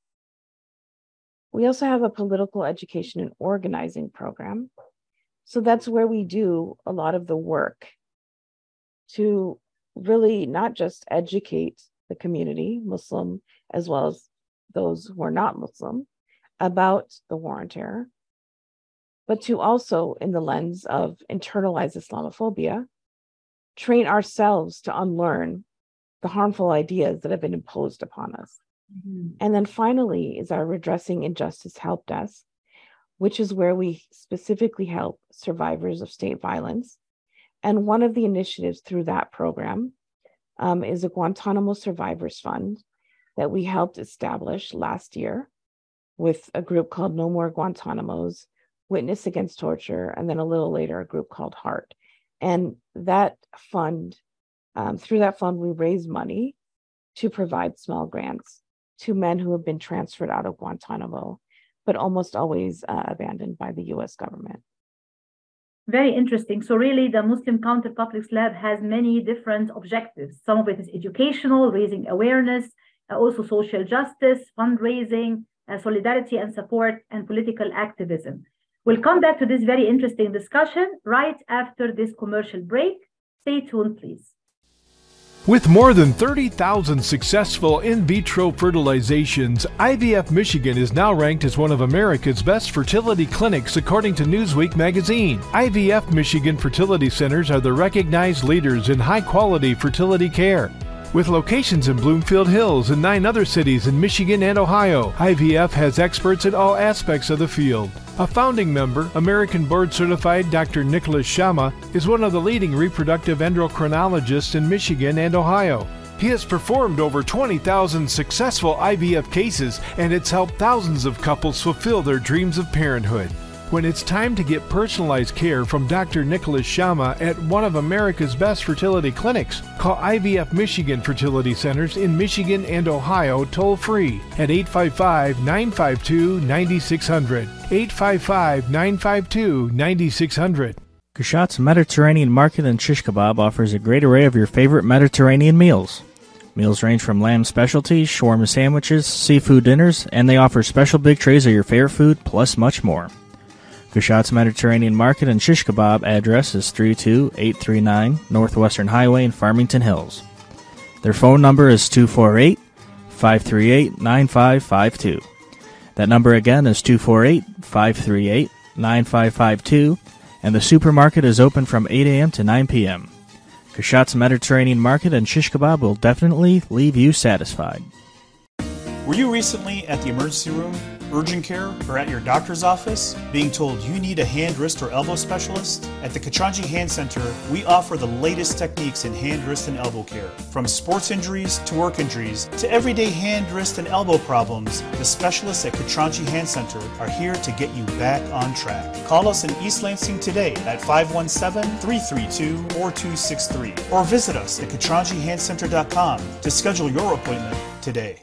Speaker 2: We also have a political education and organizing program. So that's where we do a lot of the work to really not just educate the community, Muslim as well as those who are not Muslim, about the war on terror, but to also, in the lens of internalized Islamophobia, train ourselves to unlearn the harmful ideas that have been imposed upon us. Mm-hmm. And then finally is our Redressing Injustice Help Desk, which is where we specifically help survivors of state violence. And one of the initiatives through that program is a Guantanamo Survivors Fund that we helped establish last year with a group called No More Guantanamos, Witness Against Torture, and then a little later, a group called HEART. And that fund, through that fund, we raise money to provide small grants to men who have been transferred out of Guantanamo, but almost always abandoned by the US government.
Speaker 1: Very interesting. So really, the Muslim Counter Publics Lab has many different objectives. Some of it is educational, raising awareness, also social justice, fundraising, solidarity and support, and political activism. We'll come back to this very interesting discussion right after this commercial break. Stay tuned, please.
Speaker 4: With more than 30,000 successful in vitro fertilizations, IVF Michigan is now ranked as one of America's best fertility clinics according to Newsweek magazine. IVF Michigan fertility centers are the recognized leaders in high-quality fertility care. With locations in Bloomfield Hills and 9 other cities in Michigan and Ohio, IVF has experts in all aspects of the field. A founding member, American board-certified Dr. Nicholas Shama, is one of the leading reproductive endocrinologists in Michigan and Ohio. He has performed over 20,000 successful IVF cases, and it's helped thousands of couples fulfill their dreams of parenthood. When it's time to get personalized care from Dr. Nicholas Shama at one of America's best fertility clinics, call IVF Michigan Fertility Centers in Michigan and Ohio toll-free at 855-952-9600. 855-952-9600.
Speaker 7: Kushat's Mediterranean Market and Shish Kebab offers a great array of your favorite Mediterranean meals. Meals range from lamb specialties, shawarma sandwiches, seafood dinners, and they offer special big trays of your favorite food, plus much more. Kushat's Mediterranean Market and Shish Kebab address is 32839 Northwestern Highway in Farmington Hills. Their phone number is 248-538-9552. That number again is 248-538-9552, and the supermarket is open from 8 a.m. to 9 p.m. Kushat's Mediterranean Market and Shish Kebab will definitely leave you satisfied.
Speaker 8: Were you recently at the emergency room, urgent care, or at your doctor's office being told you need a hand, wrist, or elbow specialist? At the Katranji Hand Center, we offer the latest techniques in hand, wrist, and elbow care. From sports injuries to work injuries to everyday hand, wrist, and elbow problems, the specialists at Katranji Hand Center are here to get you back on track. Call us in East Lansing today at 517-332-4263 or visit us at KatranjiHandCenter.com to schedule your appointment today.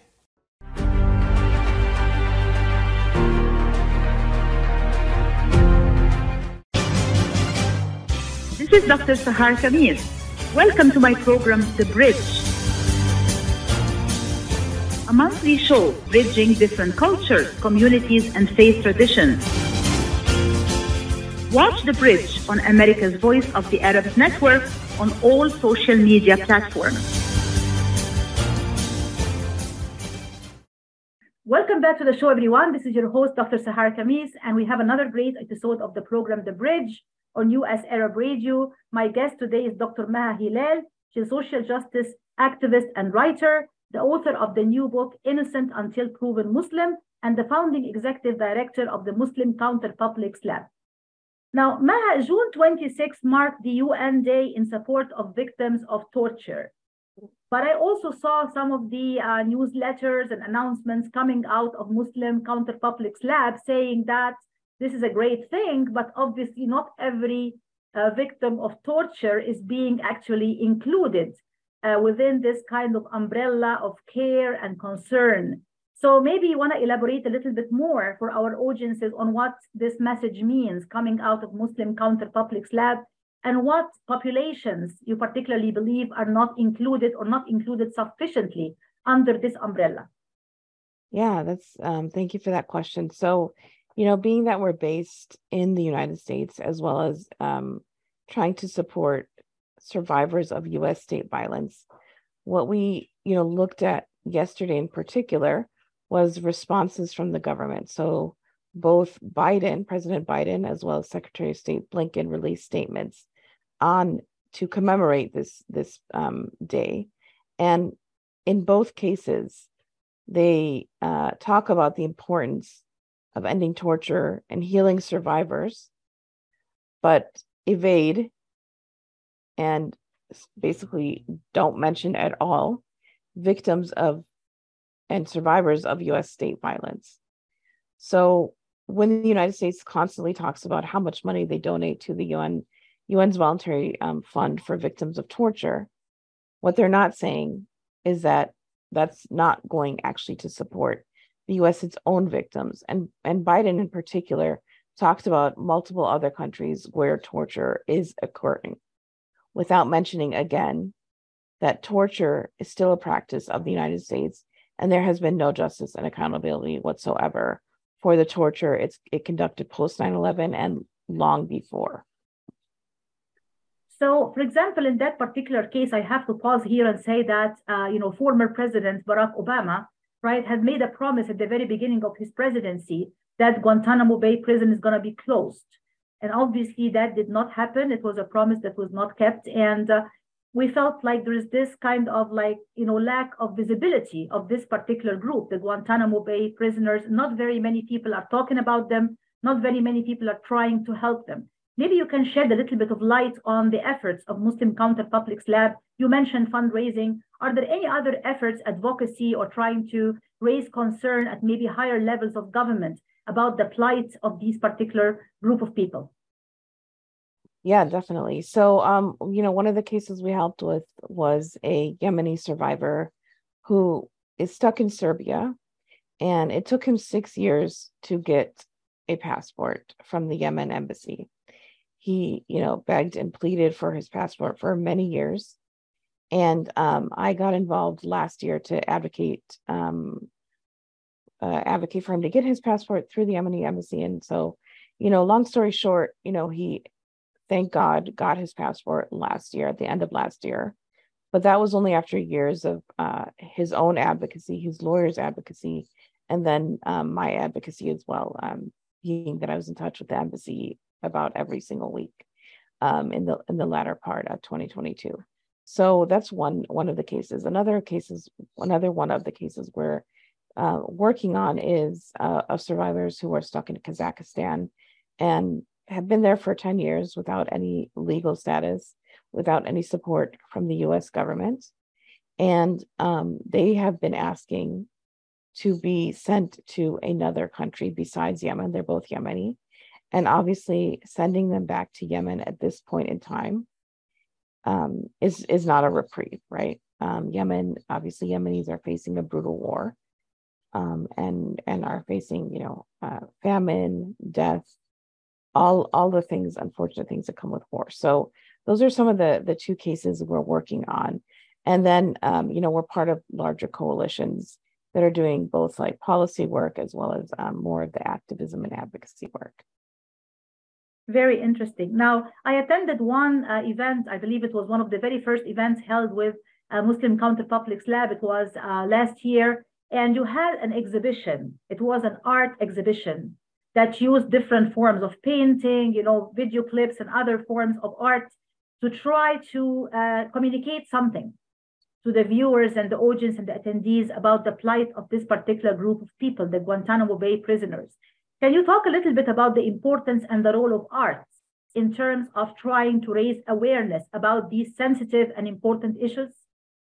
Speaker 1: This is Dr. Sahar Khamis. Welcome to my program, The Bridge, a monthly show bridging different cultures, communities, and faith traditions. Watch The Bridge on America's Voice of the Arabs Network on all social media platforms. Welcome back to the show, everyone. This is your host, Dr. Sahar Khamis, and we have another great episode of the program, The Bridge, on US Arab Radio. My guest today is Dr. Maha Hilal. She's a social justice activist and writer, the author of the new book, Innocent Until Proven Muslim, and the founding executive director of the Muslim Counter Publics Lab. Now, Maha, June 26 marked the UN Day in support of victims of torture. But I also saw some of the newsletters and announcements coming out of Muslim Counter Publics Lab saying that this is a great thing, but obviously not every victim of torture is being actually included within this kind of umbrella of care and concern. So maybe you want to elaborate a little bit more for our audiences on what this message means coming out of Muslim Counter Publics Lab, and what populations you particularly believe are not included or not included sufficiently under this umbrella.
Speaker 2: Yeah, that's thank you for that question. So, being that we're based in the United States, as well as trying to support survivors of U.S. state violence, what we, looked at yesterday in particular was responses from the government. So both President Biden, as well as Secretary of State Blinken released statements to commemorate this day. And in both cases, they talk about the importance of ending torture and healing survivors, but evade and basically don't mention at all victims of and survivors of U.S. state violence. So when the United States constantly talks about how much money they donate to the UN's voluntary fund for victims of torture, what they're not saying is that that's not going actually to support the U.S.'s own victims. And Biden in particular talked about multiple other countries where torture is occurring, without mentioning again that torture is still a practice of the United States, and there has been no justice and accountability whatsoever for the torture it conducted post 9/11 and long before.
Speaker 1: So, for example, in that particular case, I have to pause here and say that, former President Barack Obama, right, had made a promise at the very beginning of his presidency that Guantanamo Bay prison is going to be closed. And obviously that did not happen. It was a promise that was not kept. And we felt like there is this kind of lack of visibility of this particular group, the Guantanamo Bay prisoners. Not very many people are talking about them. Not very many people are trying to help them. Maybe you can shed a little bit of light on the efforts of Muslim Counter Publics Lab. You mentioned fundraising. Are there any other efforts, advocacy, or trying to raise concern at maybe higher levels of government about the plight of these particular group of people?
Speaker 2: Yeah, definitely. So, one of the cases we helped with was a Yemeni survivor who is stuck in Serbia, and it took him 6 years to get a passport from the Yemen embassy. He, begged and pleaded for his passport for many years. And I got involved last year to advocate for him to get his passport through the Yemeni embassy. And so, long story short, he, thank God, got his passport last year, at the end of last year. But that was only after years of his own advocacy, his lawyer's advocacy, and then my advocacy as well, being that I was in touch with the embassy about every single week in the latter part of 2022. So that's one of the cases. Another one of the cases we're working on is of survivors who are stuck in Kazakhstan and have been there for 10 years without any legal status, without any support from the US government. And they have been asking to be sent to another country besides Yemen. They're both Yemeni. And obviously sending them back to Yemen at this point in time is not a reprieve, right? Yemen, obviously Yemenis are facing a brutal war and are facing, famine, death, all the things, unfortunate things that come with war. So those are some of the two cases we're working on. And then, we're part of larger coalitions that are doing both like policy work as well as more of the activism and advocacy work.
Speaker 1: Very interesting. Now, I attended one event. I believe it was one of the very first events held with Muslim Counter Publics Lab. It was last year. And you had an exhibition. It was an art exhibition that used different forms of painting, video clips and other forms of art to try to communicate something to the viewers and the audience and the attendees about the plight of this particular group of people, the Guantanamo Bay prisoners. Can you talk a little bit about the importance and the role of art in terms of trying to raise awareness about these sensitive and important issues?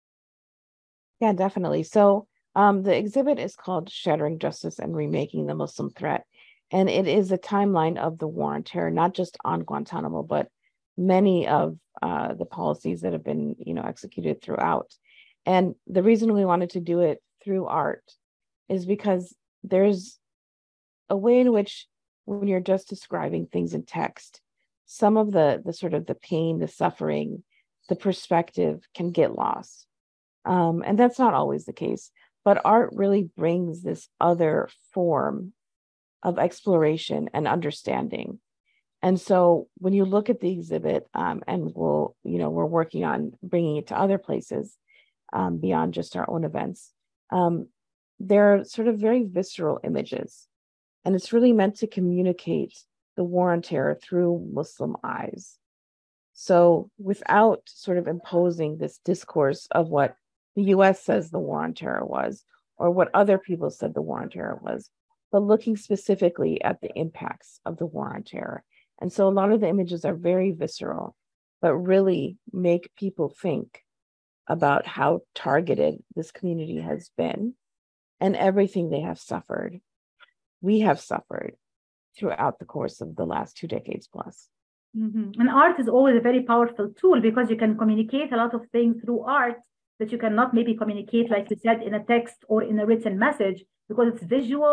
Speaker 2: Yeah, definitely. So the exhibit is called Shattering Justice and Remaking the Muslim Threat. And it is a timeline of the war on terror, not just on Guantanamo, but many of the policies that have been, executed throughout. And the reason we wanted to do it through art is because there's a way in which, when you're just describing things in text, some of the sort of the pain, the suffering, the perspective can get lost. And that's not always the case, but art really brings this other form of exploration and understanding. And so when you look at the exhibit, and we're working on bringing it to other places beyond just our own events, there are sort of very visceral images. And it's really meant to communicate the war on terror through Muslim eyes. So without sort of imposing this discourse of what the US says the war on terror was, or what other people said the war on terror was, but looking specifically at the impacts of the war on terror. And so a lot of the images are very visceral, but really make people think about how targeted this community has been and everything they have suffered. We have suffered throughout the course of the last 2 decades plus.
Speaker 1: Mm-hmm. And art is always a very powerful tool because you can communicate a lot of things through art that you cannot maybe communicate, like you said, in a text or in a written message, because it's visual,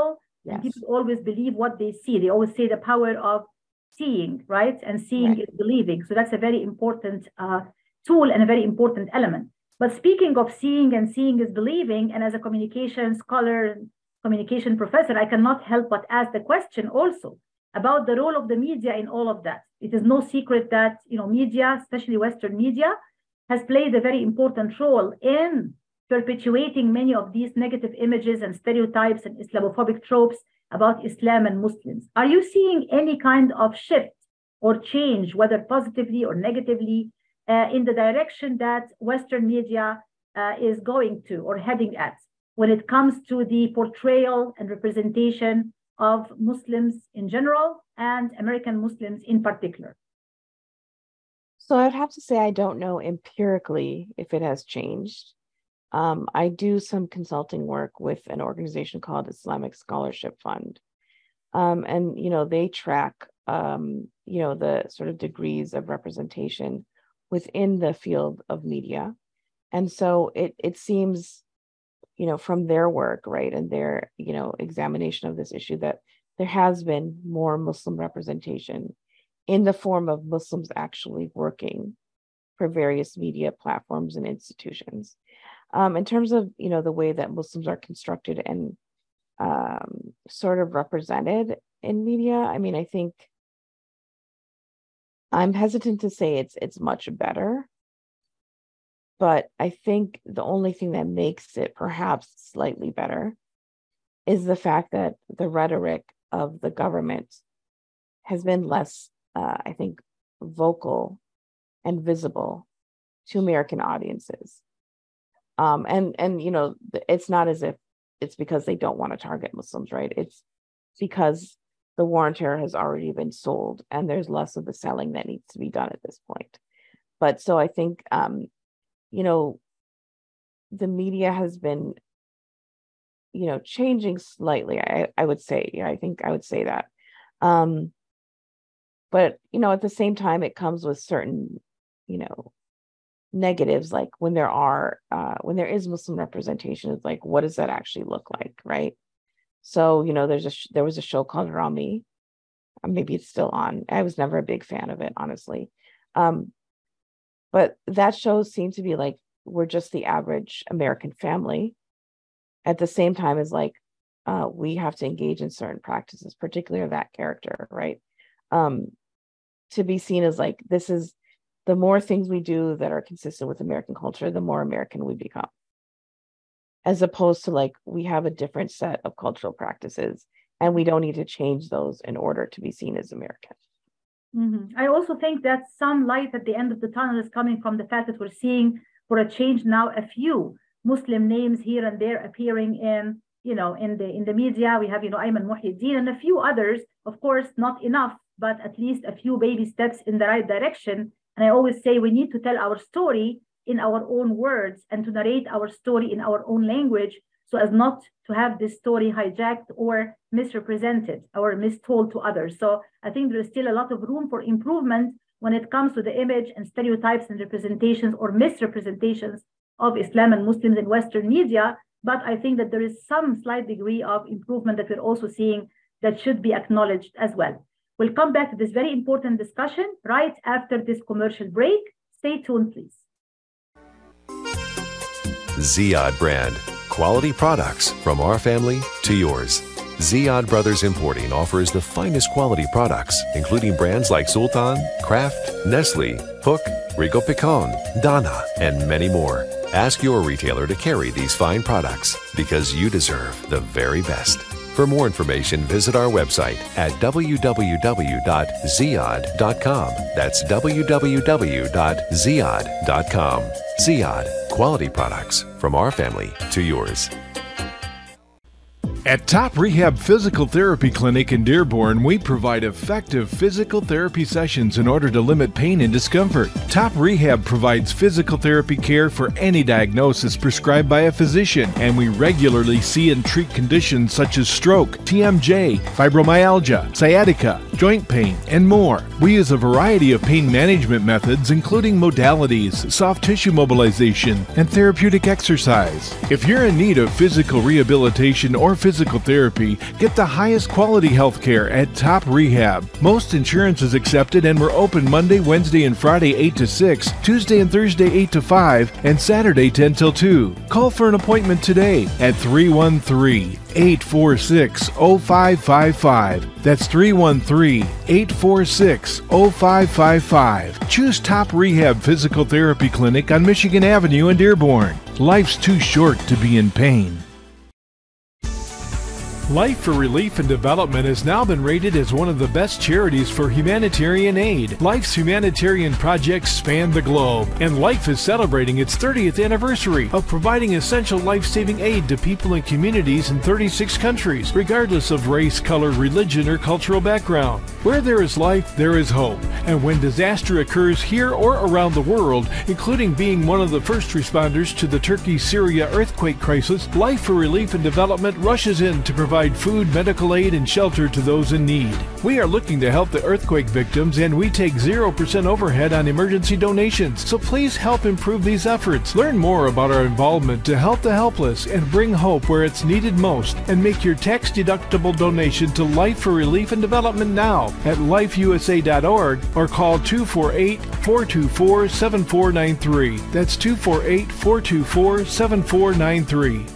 Speaker 1: And people always believe what they see. They always say the power of seeing, right? And seeing is believing. So that's a very important tool and a very important element. But speaking of seeing and seeing is believing, and as a communication scholar, communication professor, I cannot help but ask the question also about the role of the media in all of that. It is no secret that, media, especially Western media, has played a very important role in perpetuating many of these negative images and stereotypes and Islamophobic tropes about Islam and Muslims. Are you seeing any kind of shift or change, whether positively or negatively, in the direction that Western media is going to or heading at when it comes to the portrayal and representation of Muslims in general and American Muslims in particular?
Speaker 2: So I'd have to say I don't know empirically if it has changed. I do some consulting work with an organization called Islamic Scholarship Fund. And, they track, the sort of degrees of representation within the field of media. And so it seems, from their work, right, and their, examination of this issue, that there has been more Muslim representation in the form of Muslims actually working for various media platforms and institutions. In terms of, the way that Muslims are constructed and sort of represented in media, I think I'm hesitant to say it's much better, but I think the only thing that makes it perhaps slightly better is the fact that the rhetoric of the government has been less, vocal and visible to American audiences. And it's not as if it's because they don't want to target Muslims, right? It's because the war on terror has already been sold and there's less of the selling that needs to be done at this point. But so I think, the media has been, changing slightly, I would say. Yeah, I think I would say that. But, at the same time, it comes with certain, negatives, like when there is Muslim representation, it's like, what does that actually look like, right? So, there was a show called Rami. Maybe it's still on. I was never a big fan of it, honestly. But that show seemed to be like, we're just the average American family. At the same time as like, we have to engage in certain practices, particularly that character, right? To be seen as like, this is the more things we do that are consistent with American culture, the more American we become. As opposed to like, we have a different set of cultural practices and we don't need to change those in order to be seen as American.
Speaker 1: Mm-hmm. I also think that some light at the end of the tunnel is coming from the fact that we're seeing, for a change now, a few Muslim names here and there appearing in the media. We have, Ayman Muhyiddin and a few others, of course, not enough, but at least a few baby steps in the right direction. And I always say we need to tell our story in our own words and to narrate our story in our own language so as not to have this story hijacked or misrepresented or mistold to others. So I think there is still a lot of room for improvement when it comes to the image and stereotypes and representations or misrepresentations of Islam and Muslims in Western media. But I think that there is some slight degree of improvement that we're also seeing that should be acknowledged as well. We'll come back to this very important discussion right after this commercial break. Stay tuned, please.
Speaker 9: Ziyad brand. Quality products from our family to yours. Ziyad Brothers Importing offers the finest quality products, including brands like Sultan, Kraft, Nestle, Hook, Rico Picon, Dana, and many more. Ask your retailer to carry these fine products because you deserve the very best. For more information, visit our website at www.ziyad.com. That's www.ziyad.com. Ziyad, quality products from our family to yours.
Speaker 4: At Top Rehab Physical Therapy Clinic in Dearborn, we provide effective physical therapy sessions in order to limit pain and discomfort. Top Rehab provides physical therapy care for any diagnosis prescribed by a physician, and we regularly see and treat conditions such as stroke, TMJ, fibromyalgia, sciatica, joint pain, and more. We use a variety of pain management methods, including modalities, soft tissue mobilization, and therapeutic exercise. If you're in need of physical rehabilitation or physical physical therapy, get the highest quality health care at Top Rehab. Most insurance is accepted and we're open Monday, Wednesday, and Friday 8 to 6, Tuesday and Thursday 8 to 5, and Saturday 10 till 2. Call for an appointment today at 313-846-0555. That's 313-846-0555. Choose Top Rehab Physical Therapy Clinic on Michigan Avenue in Dearborn. Life's too short to be in pain. Life for Relief and Development has now been rated as one of the best charities for humanitarian aid. Life's humanitarian projects span the globe, and Life is celebrating its 30th anniversary of providing essential life-saving aid to people and communities in 36 countries, regardless of race, color, religion, or cultural background. Where there is life, there is hope. And when disaster occurs here or around the world, including being one of the first responders to the Turkey-Syria earthquake crisis, Life for Relief and Development rushes in to provide food, medical aid, and shelter to those in need. We are looking to help the earthquake victims, and we take 0% overhead on emergency donations. So please help improve these efforts. Learn more about our involvement to help the helpless and bring hope where it's needed most, and make your tax-deductible donation to Life for Relief and Development now at lifeusa.org or call 248-424-7493. That's 248-424-7493.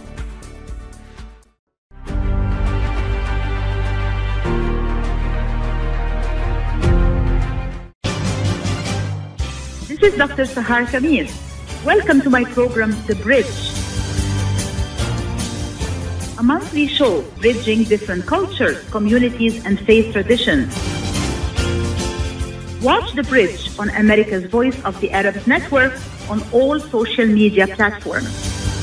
Speaker 1: This is Dr. Sahar Khamis. Welcome to my program, The Bridge, a monthly show bridging different cultures, communities, and faith traditions. Watch The Bridge on America's Voice of the Arabs Network on all social media platforms.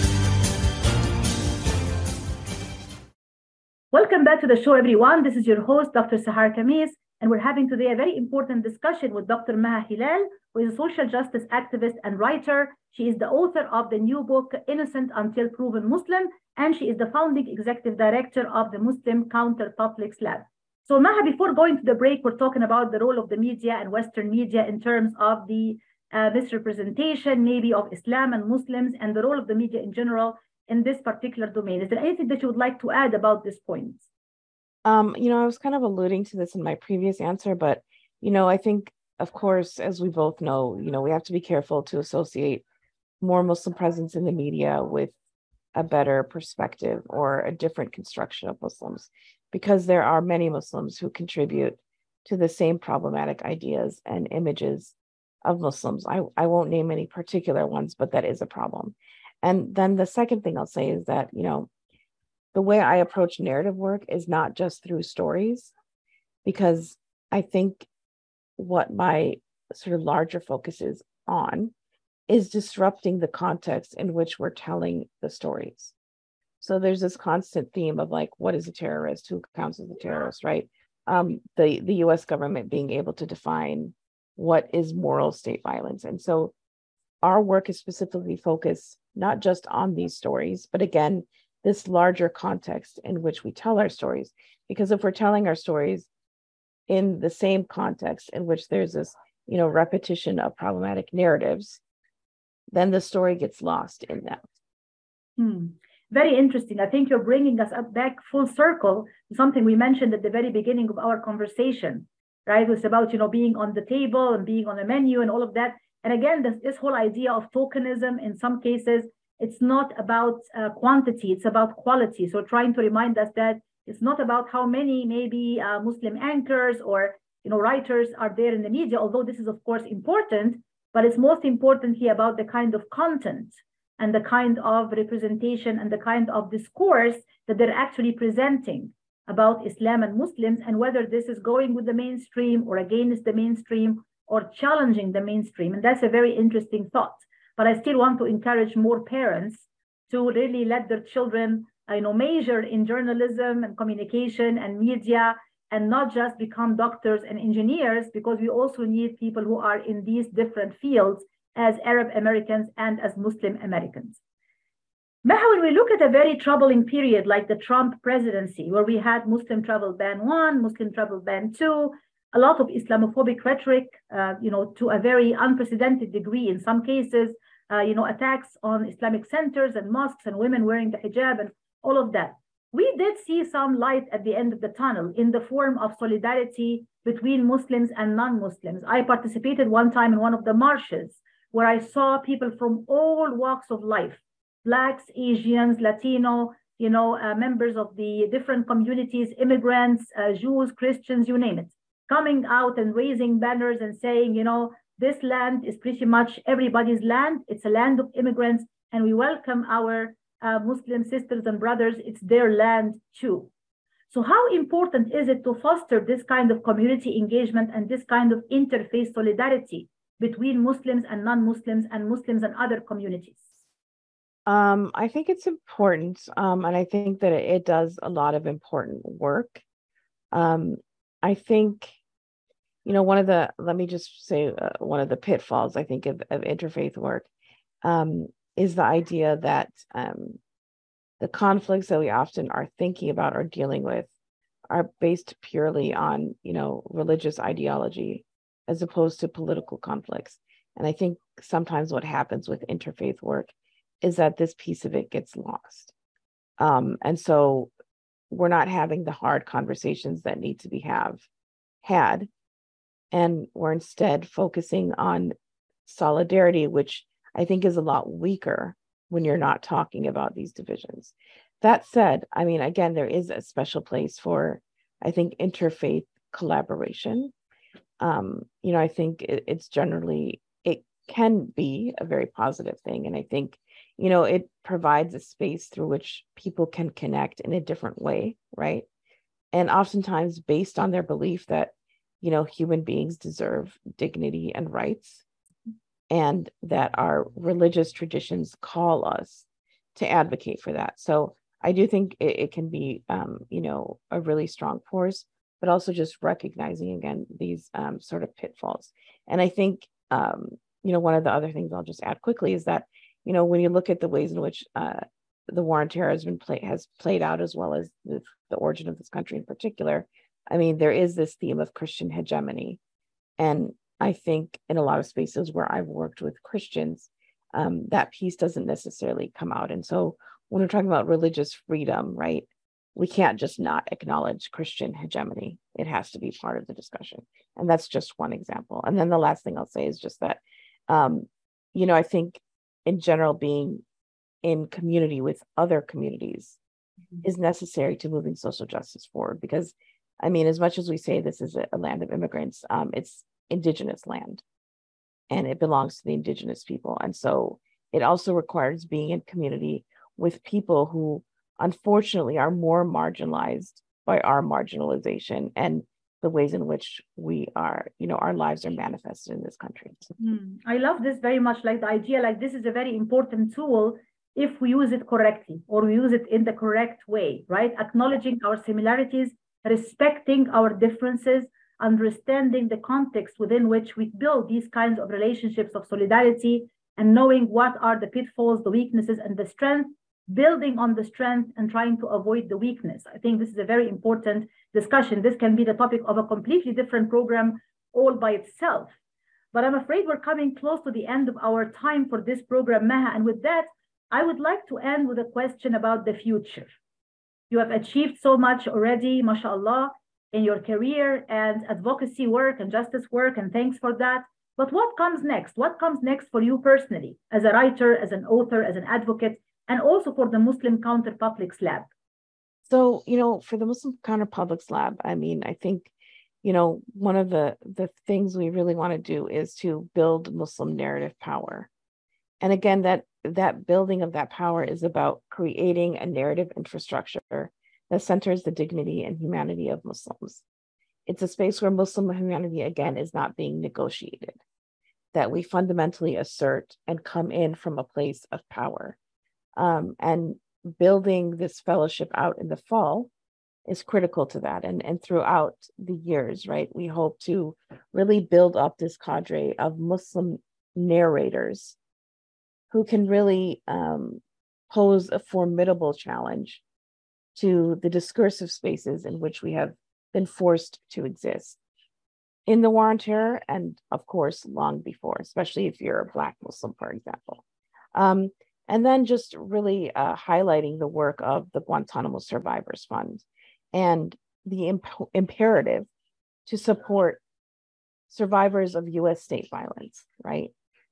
Speaker 1: Welcome back to the show, everyone. This is your host, Dr. Sahar Khamis, and we're having today a very important discussion with Dr. Maha Hilal, who is a social justice activist and writer. She is the author of the new book, Innocent Until Proven Muslim, and she is the founding executive director of the Muslim Counter Publics Lab. So Maha, before going to the break, we're talking about the role of the media and Western media in terms of the misrepresentation, maybe of Islam and Muslims, and the role of the media in general in this particular domain. Is there anything that you would like to add about this point?
Speaker 2: I was kind of alluding to this in my previous answer, but, I think, of course, as we both know, we have to be careful to associate more Muslim presence in the media with a better perspective or a different construction of Muslims, because there are many Muslims who contribute to the same problematic ideas and images of Muslims. I won't name any particular ones, but that is a problem. And then the second thing I'll say is that, the way I approach narrative work is not just through stories, because I think what my sort of larger focus is on is disrupting the context in which we're telling the stories. So there's this constant theme of like, what is a terrorist? Who counts as a terrorist, right? The US government being able to define what is moral state violence. And so our work is specifically focused not just on these stories, but again, this larger context in which we tell our stories. Because if we're telling our stories in the same context in which there's this, repetition of problematic narratives, then the story gets lost in that.
Speaker 1: Very interesting. I think you're bringing us back full circle to something we mentioned at the very beginning of our conversation, right? It was about, being on the table and being on the menu and all of that. And again, this whole idea of tokenism, in some cases, it's not about quantity, it's about quality. So trying to remind us that it's not about how many maybe Muslim anchors or writers are there in the media, although this is of course important, but it's most importantly about the kind of content and the kind of representation and the kind of discourse that they're actually presenting about Islam and Muslims, and whether this is going with the mainstream or against the mainstream or challenging the mainstream. And that's a very interesting thought. But I still want to encourage more parents to really let their children, major in journalism and communication and media, and not just become doctors and engineers, because we also need people who are in these different fields as Arab Americans and as Muslim Americans. Maha, when we look at a very troubling period like the Trump presidency, where we had Muslim travel ban 1, Muslim travel ban 2, a lot of Islamophobic rhetoric, to a very unprecedented degree in some cases, attacks on Islamic centers and mosques and women wearing the hijab and all of that. we did see some light at the end of the tunnel in the form of solidarity between Muslims and non-Muslims. I participated one time in one of the marches where I saw people from all walks of life, Blacks, Asians, Latino, members of the different communities, immigrants, Jews, Christians, you name it, coming out and raising banners and saying, this land is pretty much everybody's land. It's a land of immigrants, and we welcome our Muslim sisters and brothers. It's their land too. So how important is it to foster this kind of community engagement and this kind of interfaith solidarity between Muslims and non-Muslims and Muslims and other communities?
Speaker 2: I think it's important, and I think that it does a lot of important work. I think, one of the pitfalls, I think, of interfaith work is the idea that the conflicts that we often are thinking about or dealing with are based purely on, religious ideology as opposed to political conflicts. And I think sometimes what happens with interfaith work is that this piece of it gets lost. And so we're not having the hard conversations that need to be had. And we're instead focusing on solidarity, which I think is a lot weaker when you're not talking about these divisions. That said, again, there is a special place for, I think, interfaith collaboration. I think it's generally, it can be a very positive thing. And I think, it provides a space through which people can connect in a different way, right? And oftentimes based on their belief that, human beings deserve dignity and rights, and that our religious traditions call us to advocate for that. So I do think it can be, a really strong force, but also just recognizing, again, these sort of pitfalls. And I think, one of the other things I'll just add quickly is that, when you look at the ways in which the war on terror has played out, as well as the origin of this country in particular, there is this theme of Christian hegemony. And I think in a lot of spaces where I've worked with Christians, that piece doesn't necessarily come out. And so when we're talking about religious freedom, right, we can't just not acknowledge Christian hegemony. It has to be part of the discussion. And that's just one example. And then the last thing I'll say is just that, I think in general, being in community with other communities is necessary to moving social justice forward. Because, as much as we say this is a land of immigrants, it's indigenous land and it belongs to the indigenous people. And so it also requires being in community with people who unfortunately are more marginalized by our marginalization and the ways in which we are, our lives are manifested in this country.
Speaker 1: I love this very much, like the idea, like this is a very important tool if we use it correctly or we use it in the correct way, right? Acknowledging our similarities, respecting our differences, understanding the context within which we build these kinds of relationships of solidarity, and knowing what are the pitfalls, the weaknesses, and the strength, building on the strength and trying to avoid the weakness. I think this is a very important discussion. This can be the topic of a completely different program all by itself. But I'm afraid we're coming close to the end of our time for this program, Maha. And with that, I would like to end with a question about the future. You have achieved so much already, mashallah, in your career and advocacy work and justice work, and thanks for that. But what comes next? What comes next for you personally, as a writer, as an author, as an advocate, and also for the Muslim Counter Publics Lab?
Speaker 2: So, for the Muslim Counter Publics Lab, I think, one of the things we really want to do is to build Muslim narrative power. And again, that building of that power is about creating a narrative infrastructure that centers the dignity and humanity of Muslims. It's a space where Muslim humanity, again, is not being negotiated, that we fundamentally assert and come in from a place of power. And building this fellowship out in the fall is critical to that. And throughout the years, right, we hope to really build up this cadre of Muslim narrators who can really pose a formidable challenge to the discursive spaces in which we have been forced to exist in the war on terror, and of course, long before, especially if you're a Black Muslim, for example. And then just really highlighting the work of the Guantanamo Survivors Fund and the imperative to support survivors of U.S. state violence, right?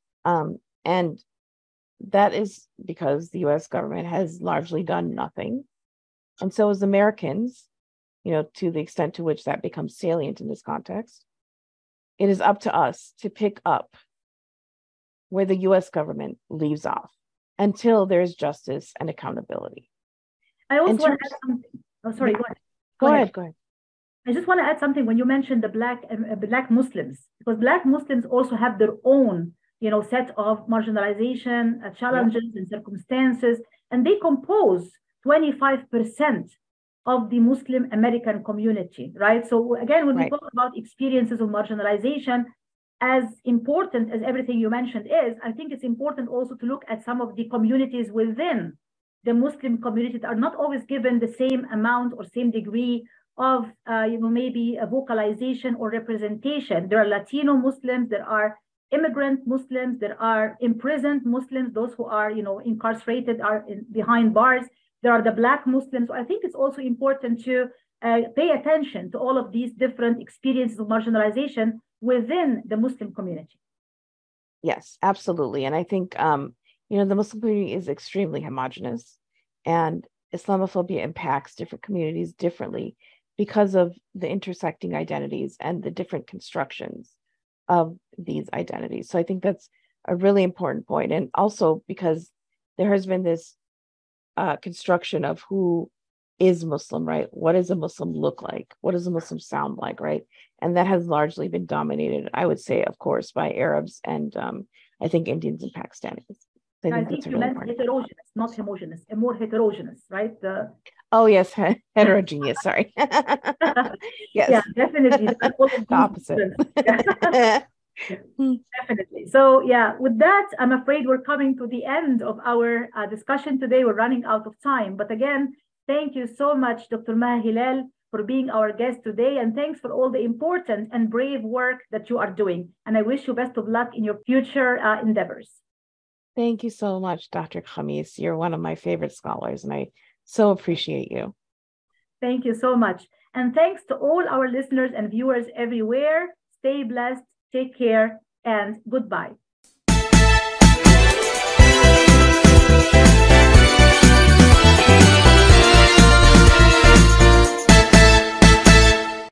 Speaker 2: And that is because the U.S. government has largely done nothing. And so as Americans, to the extent to which that becomes salient in this context, it is up to us to pick up where the U.S. government leaves off until there's justice and accountability.
Speaker 1: I also want to add something. Oh, sorry,
Speaker 2: go ahead.
Speaker 1: I just want to add something when you mentioned the Black Muslims, because Black Muslims also have their own, set of marginalization challenges and circumstances, and they compose 25% of the Muslim American community, right? So again, when we talk about experiences of marginalization, as important as everything you mentioned is, I think it's important also to look at some of the communities within the Muslim community that are not always given the same amount or same degree of, maybe a vocalization or representation. There are Latino Muslims, there are immigrant Muslims, there are imprisoned Muslims, those who are, incarcerated, are behind bars. There are the Black Muslims. I think it's also important to pay attention to all of these different experiences of marginalization within the Muslim community.
Speaker 2: Yes, absolutely. And I think, the Muslim community is extremely homogenous, and Islamophobia impacts different communities differently because of the intersecting identities and the different constructions of these identities. So I think that's a really important point. And also because there has been this construction of who is Muslim, right? What does a Muslim look like? What does a Muslim sound like, right? And that has largely been dominated, I would say, of course, by Arabs and I think Indians and Pakistanis.
Speaker 1: I think you meant heterogeneous, not homogeneous, and more heterogeneous, right?
Speaker 2: Oh, yes, heterogeneous, sorry. Yes.
Speaker 1: Yeah, definitely.
Speaker 2: The opposite.
Speaker 1: Definitely. So yeah, with that, I'm afraid we're coming to the end of our discussion today. We're running out of time. But again, thank you so much, Dr. Maha Hilal, for being our guest today. And thanks for all the important and brave work that you are doing. And I wish you best of luck in your future endeavors.
Speaker 2: Thank you so much, Dr. Khamis. You're one of my favorite scholars, and I so appreciate you.
Speaker 1: Thank you so much. And thanks to all our listeners and viewers everywhere. Stay blessed, take care, and goodbye.